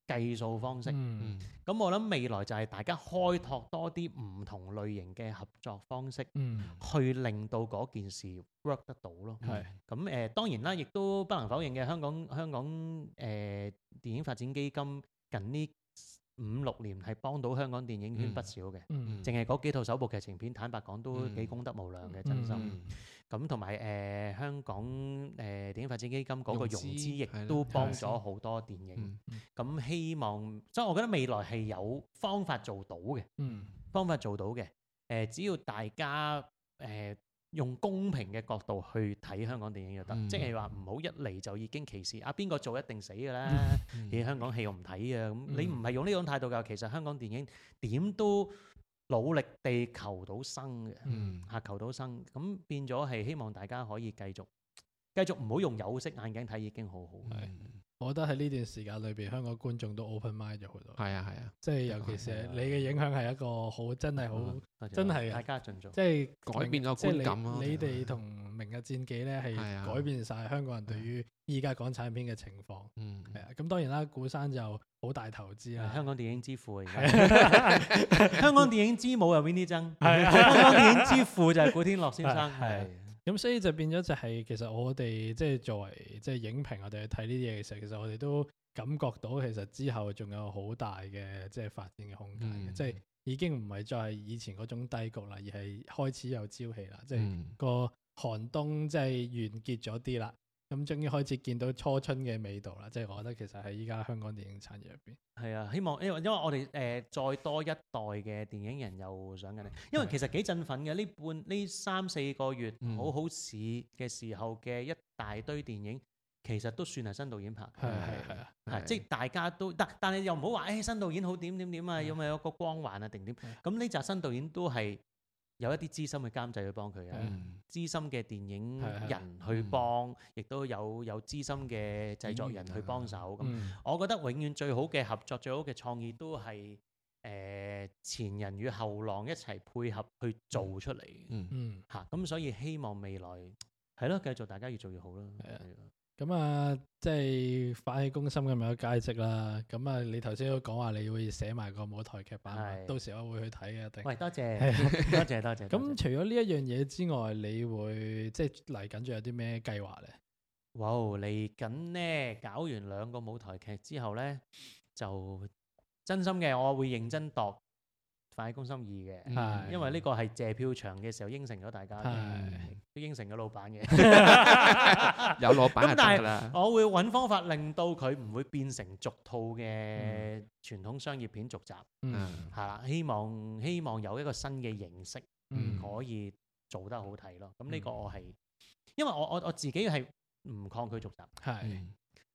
計數方式。咁、 嗯我諗未來就係大家開拓多啲唔同類型嘅合作方式， 嗯去令到嗰件事 work 得到咯。 係咁誒、呃、當然啦，亦都不能否認嘅，香港香港誒、呃、電影發展基金近呢五六年係幫到香港電影圈不少嘅。 嗯淨係嗰幾套首部劇情片，坦白講都幾功德無量嘅，真心。 嗯咁同埋誒香港誒、呃、電影發展基金嗰個融融資資亦係啦都幫係咗好多電影。 嗯咁、希望，所以我覺得未來係有方法做到嘅， 嗯方法做到嘅。誒、呃，只要大家誒、呃、用公平嘅角度去睇香港電影就得， 嗯即係話唔好一嚟就已經歧視啊邊個做一定死㗎啦。 嗯你香港戲我唔睇啊，咁嗯你唔係用呢種態度㗎。其實香港電影點都努力地求到生嘅， 嗯嚇求到生，咁變咗係希望大家可以繼續繼續唔好用有色眼鏡睇已經好好。 我覺得喺呢段時間裏邊，香港觀眾都 open mind 咗好多。 係啊係啊， 即係尤其是係你嘅影響係一個好真係好， 多謝真係大家盡做。 即係改變咗即係觀感咯你你哋同明日戰記咧係係啊改變晒香港人對於依家港產片嘅情況。 嗯係啊，咁當然啦，古山就好大投資啦。 香港電影之父啊！ 係而家香港電影之母又邊啲爭？ 係啊香港電影之父就係古天樂先生。 係係咁所以就變咗就係其實我哋即係作為即係影評，我哋去睇呢啲嘢嘅時候，其實我哋都感覺到其實之後仲有好大嘅即係發展嘅空間嘅， 嗯即係已經唔係再係以前嗰種低谷啦，而係開始有朝氣啦，即係嗯個寒冬即係完結咗啲啦，咁終於開始見到初春嘅味道啦，即係我覺得其實喺依家香港電影產業入邊。 係啊，希望因為因為我哋誒、呃、再多一代嘅電影人又上緊嚟，因為其實幾振奮嘅呢半呢三四個月嗯好好市嘅時候嘅一大堆電影，其實都算係新導演拍嘅。 係係係啊， 係即係大家都但但係又唔好話誒新導演好點點點啊， 係有咪有個光環啊定點？ 係咁呢集新導演都係有一啲資深嘅監製去幫佢嘅， 嗯資深嘅電影係係人去幫，亦都有有資深嘅製作人去幫手。咁、 嗯我覺得永遠最好嘅合作、最好嘅創意都係誒、呃前人與後浪一齊配合去做出嚟嘅嗯嗯。 嚇。咁、所以希望未來係咯，繼續大家越做越好啦。 係啊係啊咁啊，即係反起攻心咁有佳績啦。咁啊，你頭先都講話你會寫埋個舞台劇版嘛， 係到時我會去睇嘅，一定。 喂，多謝係多謝多謝。多謝咁除咗呢一樣嘢之外，你會即係嚟緊仲有啲咩計劃咧？ 哇！嚟緊呢，搞完兩個舞台劇之後呢，就真心嘅，我會認真度《飯戲攻心二》嘅， 係因為呢個係謝票場嘅時候應承咗大家嘅， 係都應承咗老闆嘅。 有老闆就得咁但係㗎啦。 我會揾方法令到佢唔會變成續套嘅傳統商業片續集， 嗯嗯係啦。希望希望有一個新嘅形式嗯可以做得好睇咯。咁呢個我係因為我我我自己係唔抗拒續集。 係嗯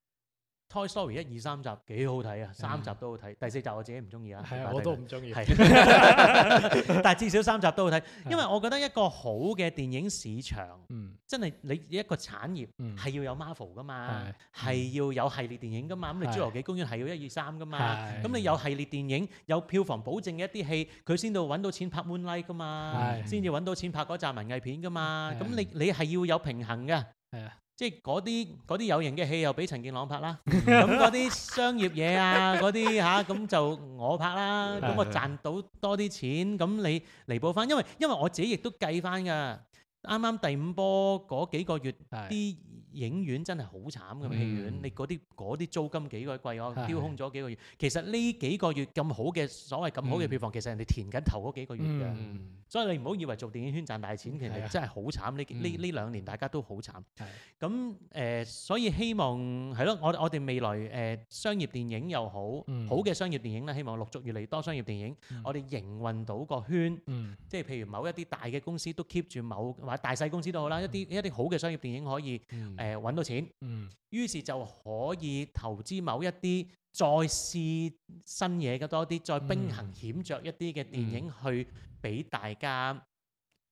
Toy Story 一二三集幾好睇啊，三集都好睇，第四集我自己唔中意啊， 係啊，我都唔中意。 係，但係至少三集都好睇，因為我覺得一個好嘅電影市場， 嗯真係你一個產業嗯係要有 Marvel 噶嘛係， 係要有系列電影噶嘛，咁你係侏羅紀公園係要一二三噶嘛， 係咁你有系列電影有票房保證嘅一啲戲，佢先到揾到錢拍 Moonlight 噶嘛， 係先至揾到錢拍嗰集文藝片噶嘛， 係咁你你係要有平衡嘅。 係啊， 即係嗰啲嗰啲有型嘅戲又俾陳健朗拍啦，咁嗰啲商業嘢啊嗰啲吓，咁就我拍啦，咁我賺到多啲錢，咁你彌補翻，因為因為我自己亦都計翻㗎，啱啱第五波嗰幾個月係啲影院真係好慘㗎， 嗯戲院你嗰啲嗰啲租金幾鬼貴，我係丟空咗幾個月，其實呢幾個月咁好嘅所謂咁好嘅票房，其實人哋填緊頭嗰幾個月㗎。 嗯所以你唔好以為做電影圈賺大錢，其係啊實真係好慘。呢呢嗯呢兩年大家都好慘。 係咁誒、呃所以希望係咯，我我哋未來誒、呃商業電影又好， 嗯好嘅商業電影咧，希望陸續越嚟越多商業電影， 嗯我哋營運到個圈， 嗯即係譬如某一啲大嘅公司都 keep 住某或者大細公司都好啦，一啲一啲好嘅商業電影可以嗯誒揾、到錢， 嗯於是就可以投資某一啲再試新嘢嘅多啲，再兵行險著一啲嘅電影去俾大家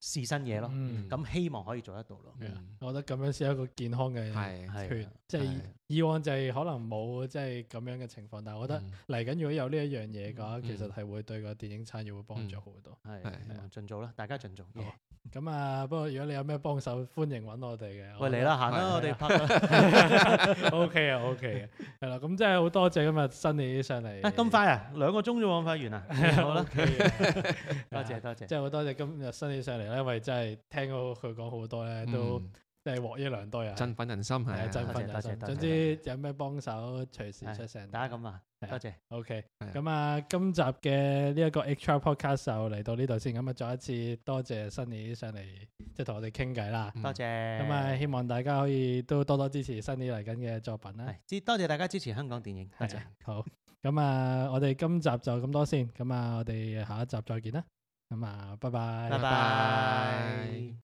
試新嘢咯。 嗯咁希望可以做得到咯。 係啊我覺得咁樣先係一個健康嘅係係團，即係係以往就係可能冇即係咁樣嘅情況，但係我覺得嗯嚟緊如果有呢一樣嘢嘅話， 嗯其實係會對個電影產業會幫助好多。 係係希望盡做啦，大家盡做。 好咁啊，不過如果你有咩幫手，歡迎揾我哋嘅。 喂，嚟啦，行啦， 係我哋拍啦。 O K 啊，O K 嘅，係啦，咁真係好多謝今日新你上嚟。 啊咁快啊，兩個鐘啫喎，快完啦。好啦， OK 嘅多謝多謝。 即係好多謝今日新你上嚟咧，因為真係聽到佢講好多咧，都嗯即係獲益良多啊。 振奮人心係啊， 係振多謝奮人心。 多謝多謝總之有咩幫手，隨時出聲。 大家咁話， 係啊多謝。 OK， 係啊咁啊，今集嘅呢一個 Extra Podcast 就嚟到呢度先。咁啊，再一次多謝 Sunny 上嚟，即係同我哋傾偈啦。 嗯多謝。 咁啊，希望大家可以都多多支持 Sunny 嚟緊嘅作品啦。 係，支多謝大家支持香港電影，多謝係啊。好，咁啊，我哋今集就咁多先。咁啊，我哋下一集再見啦。咁啊，拜拜。 拜拜。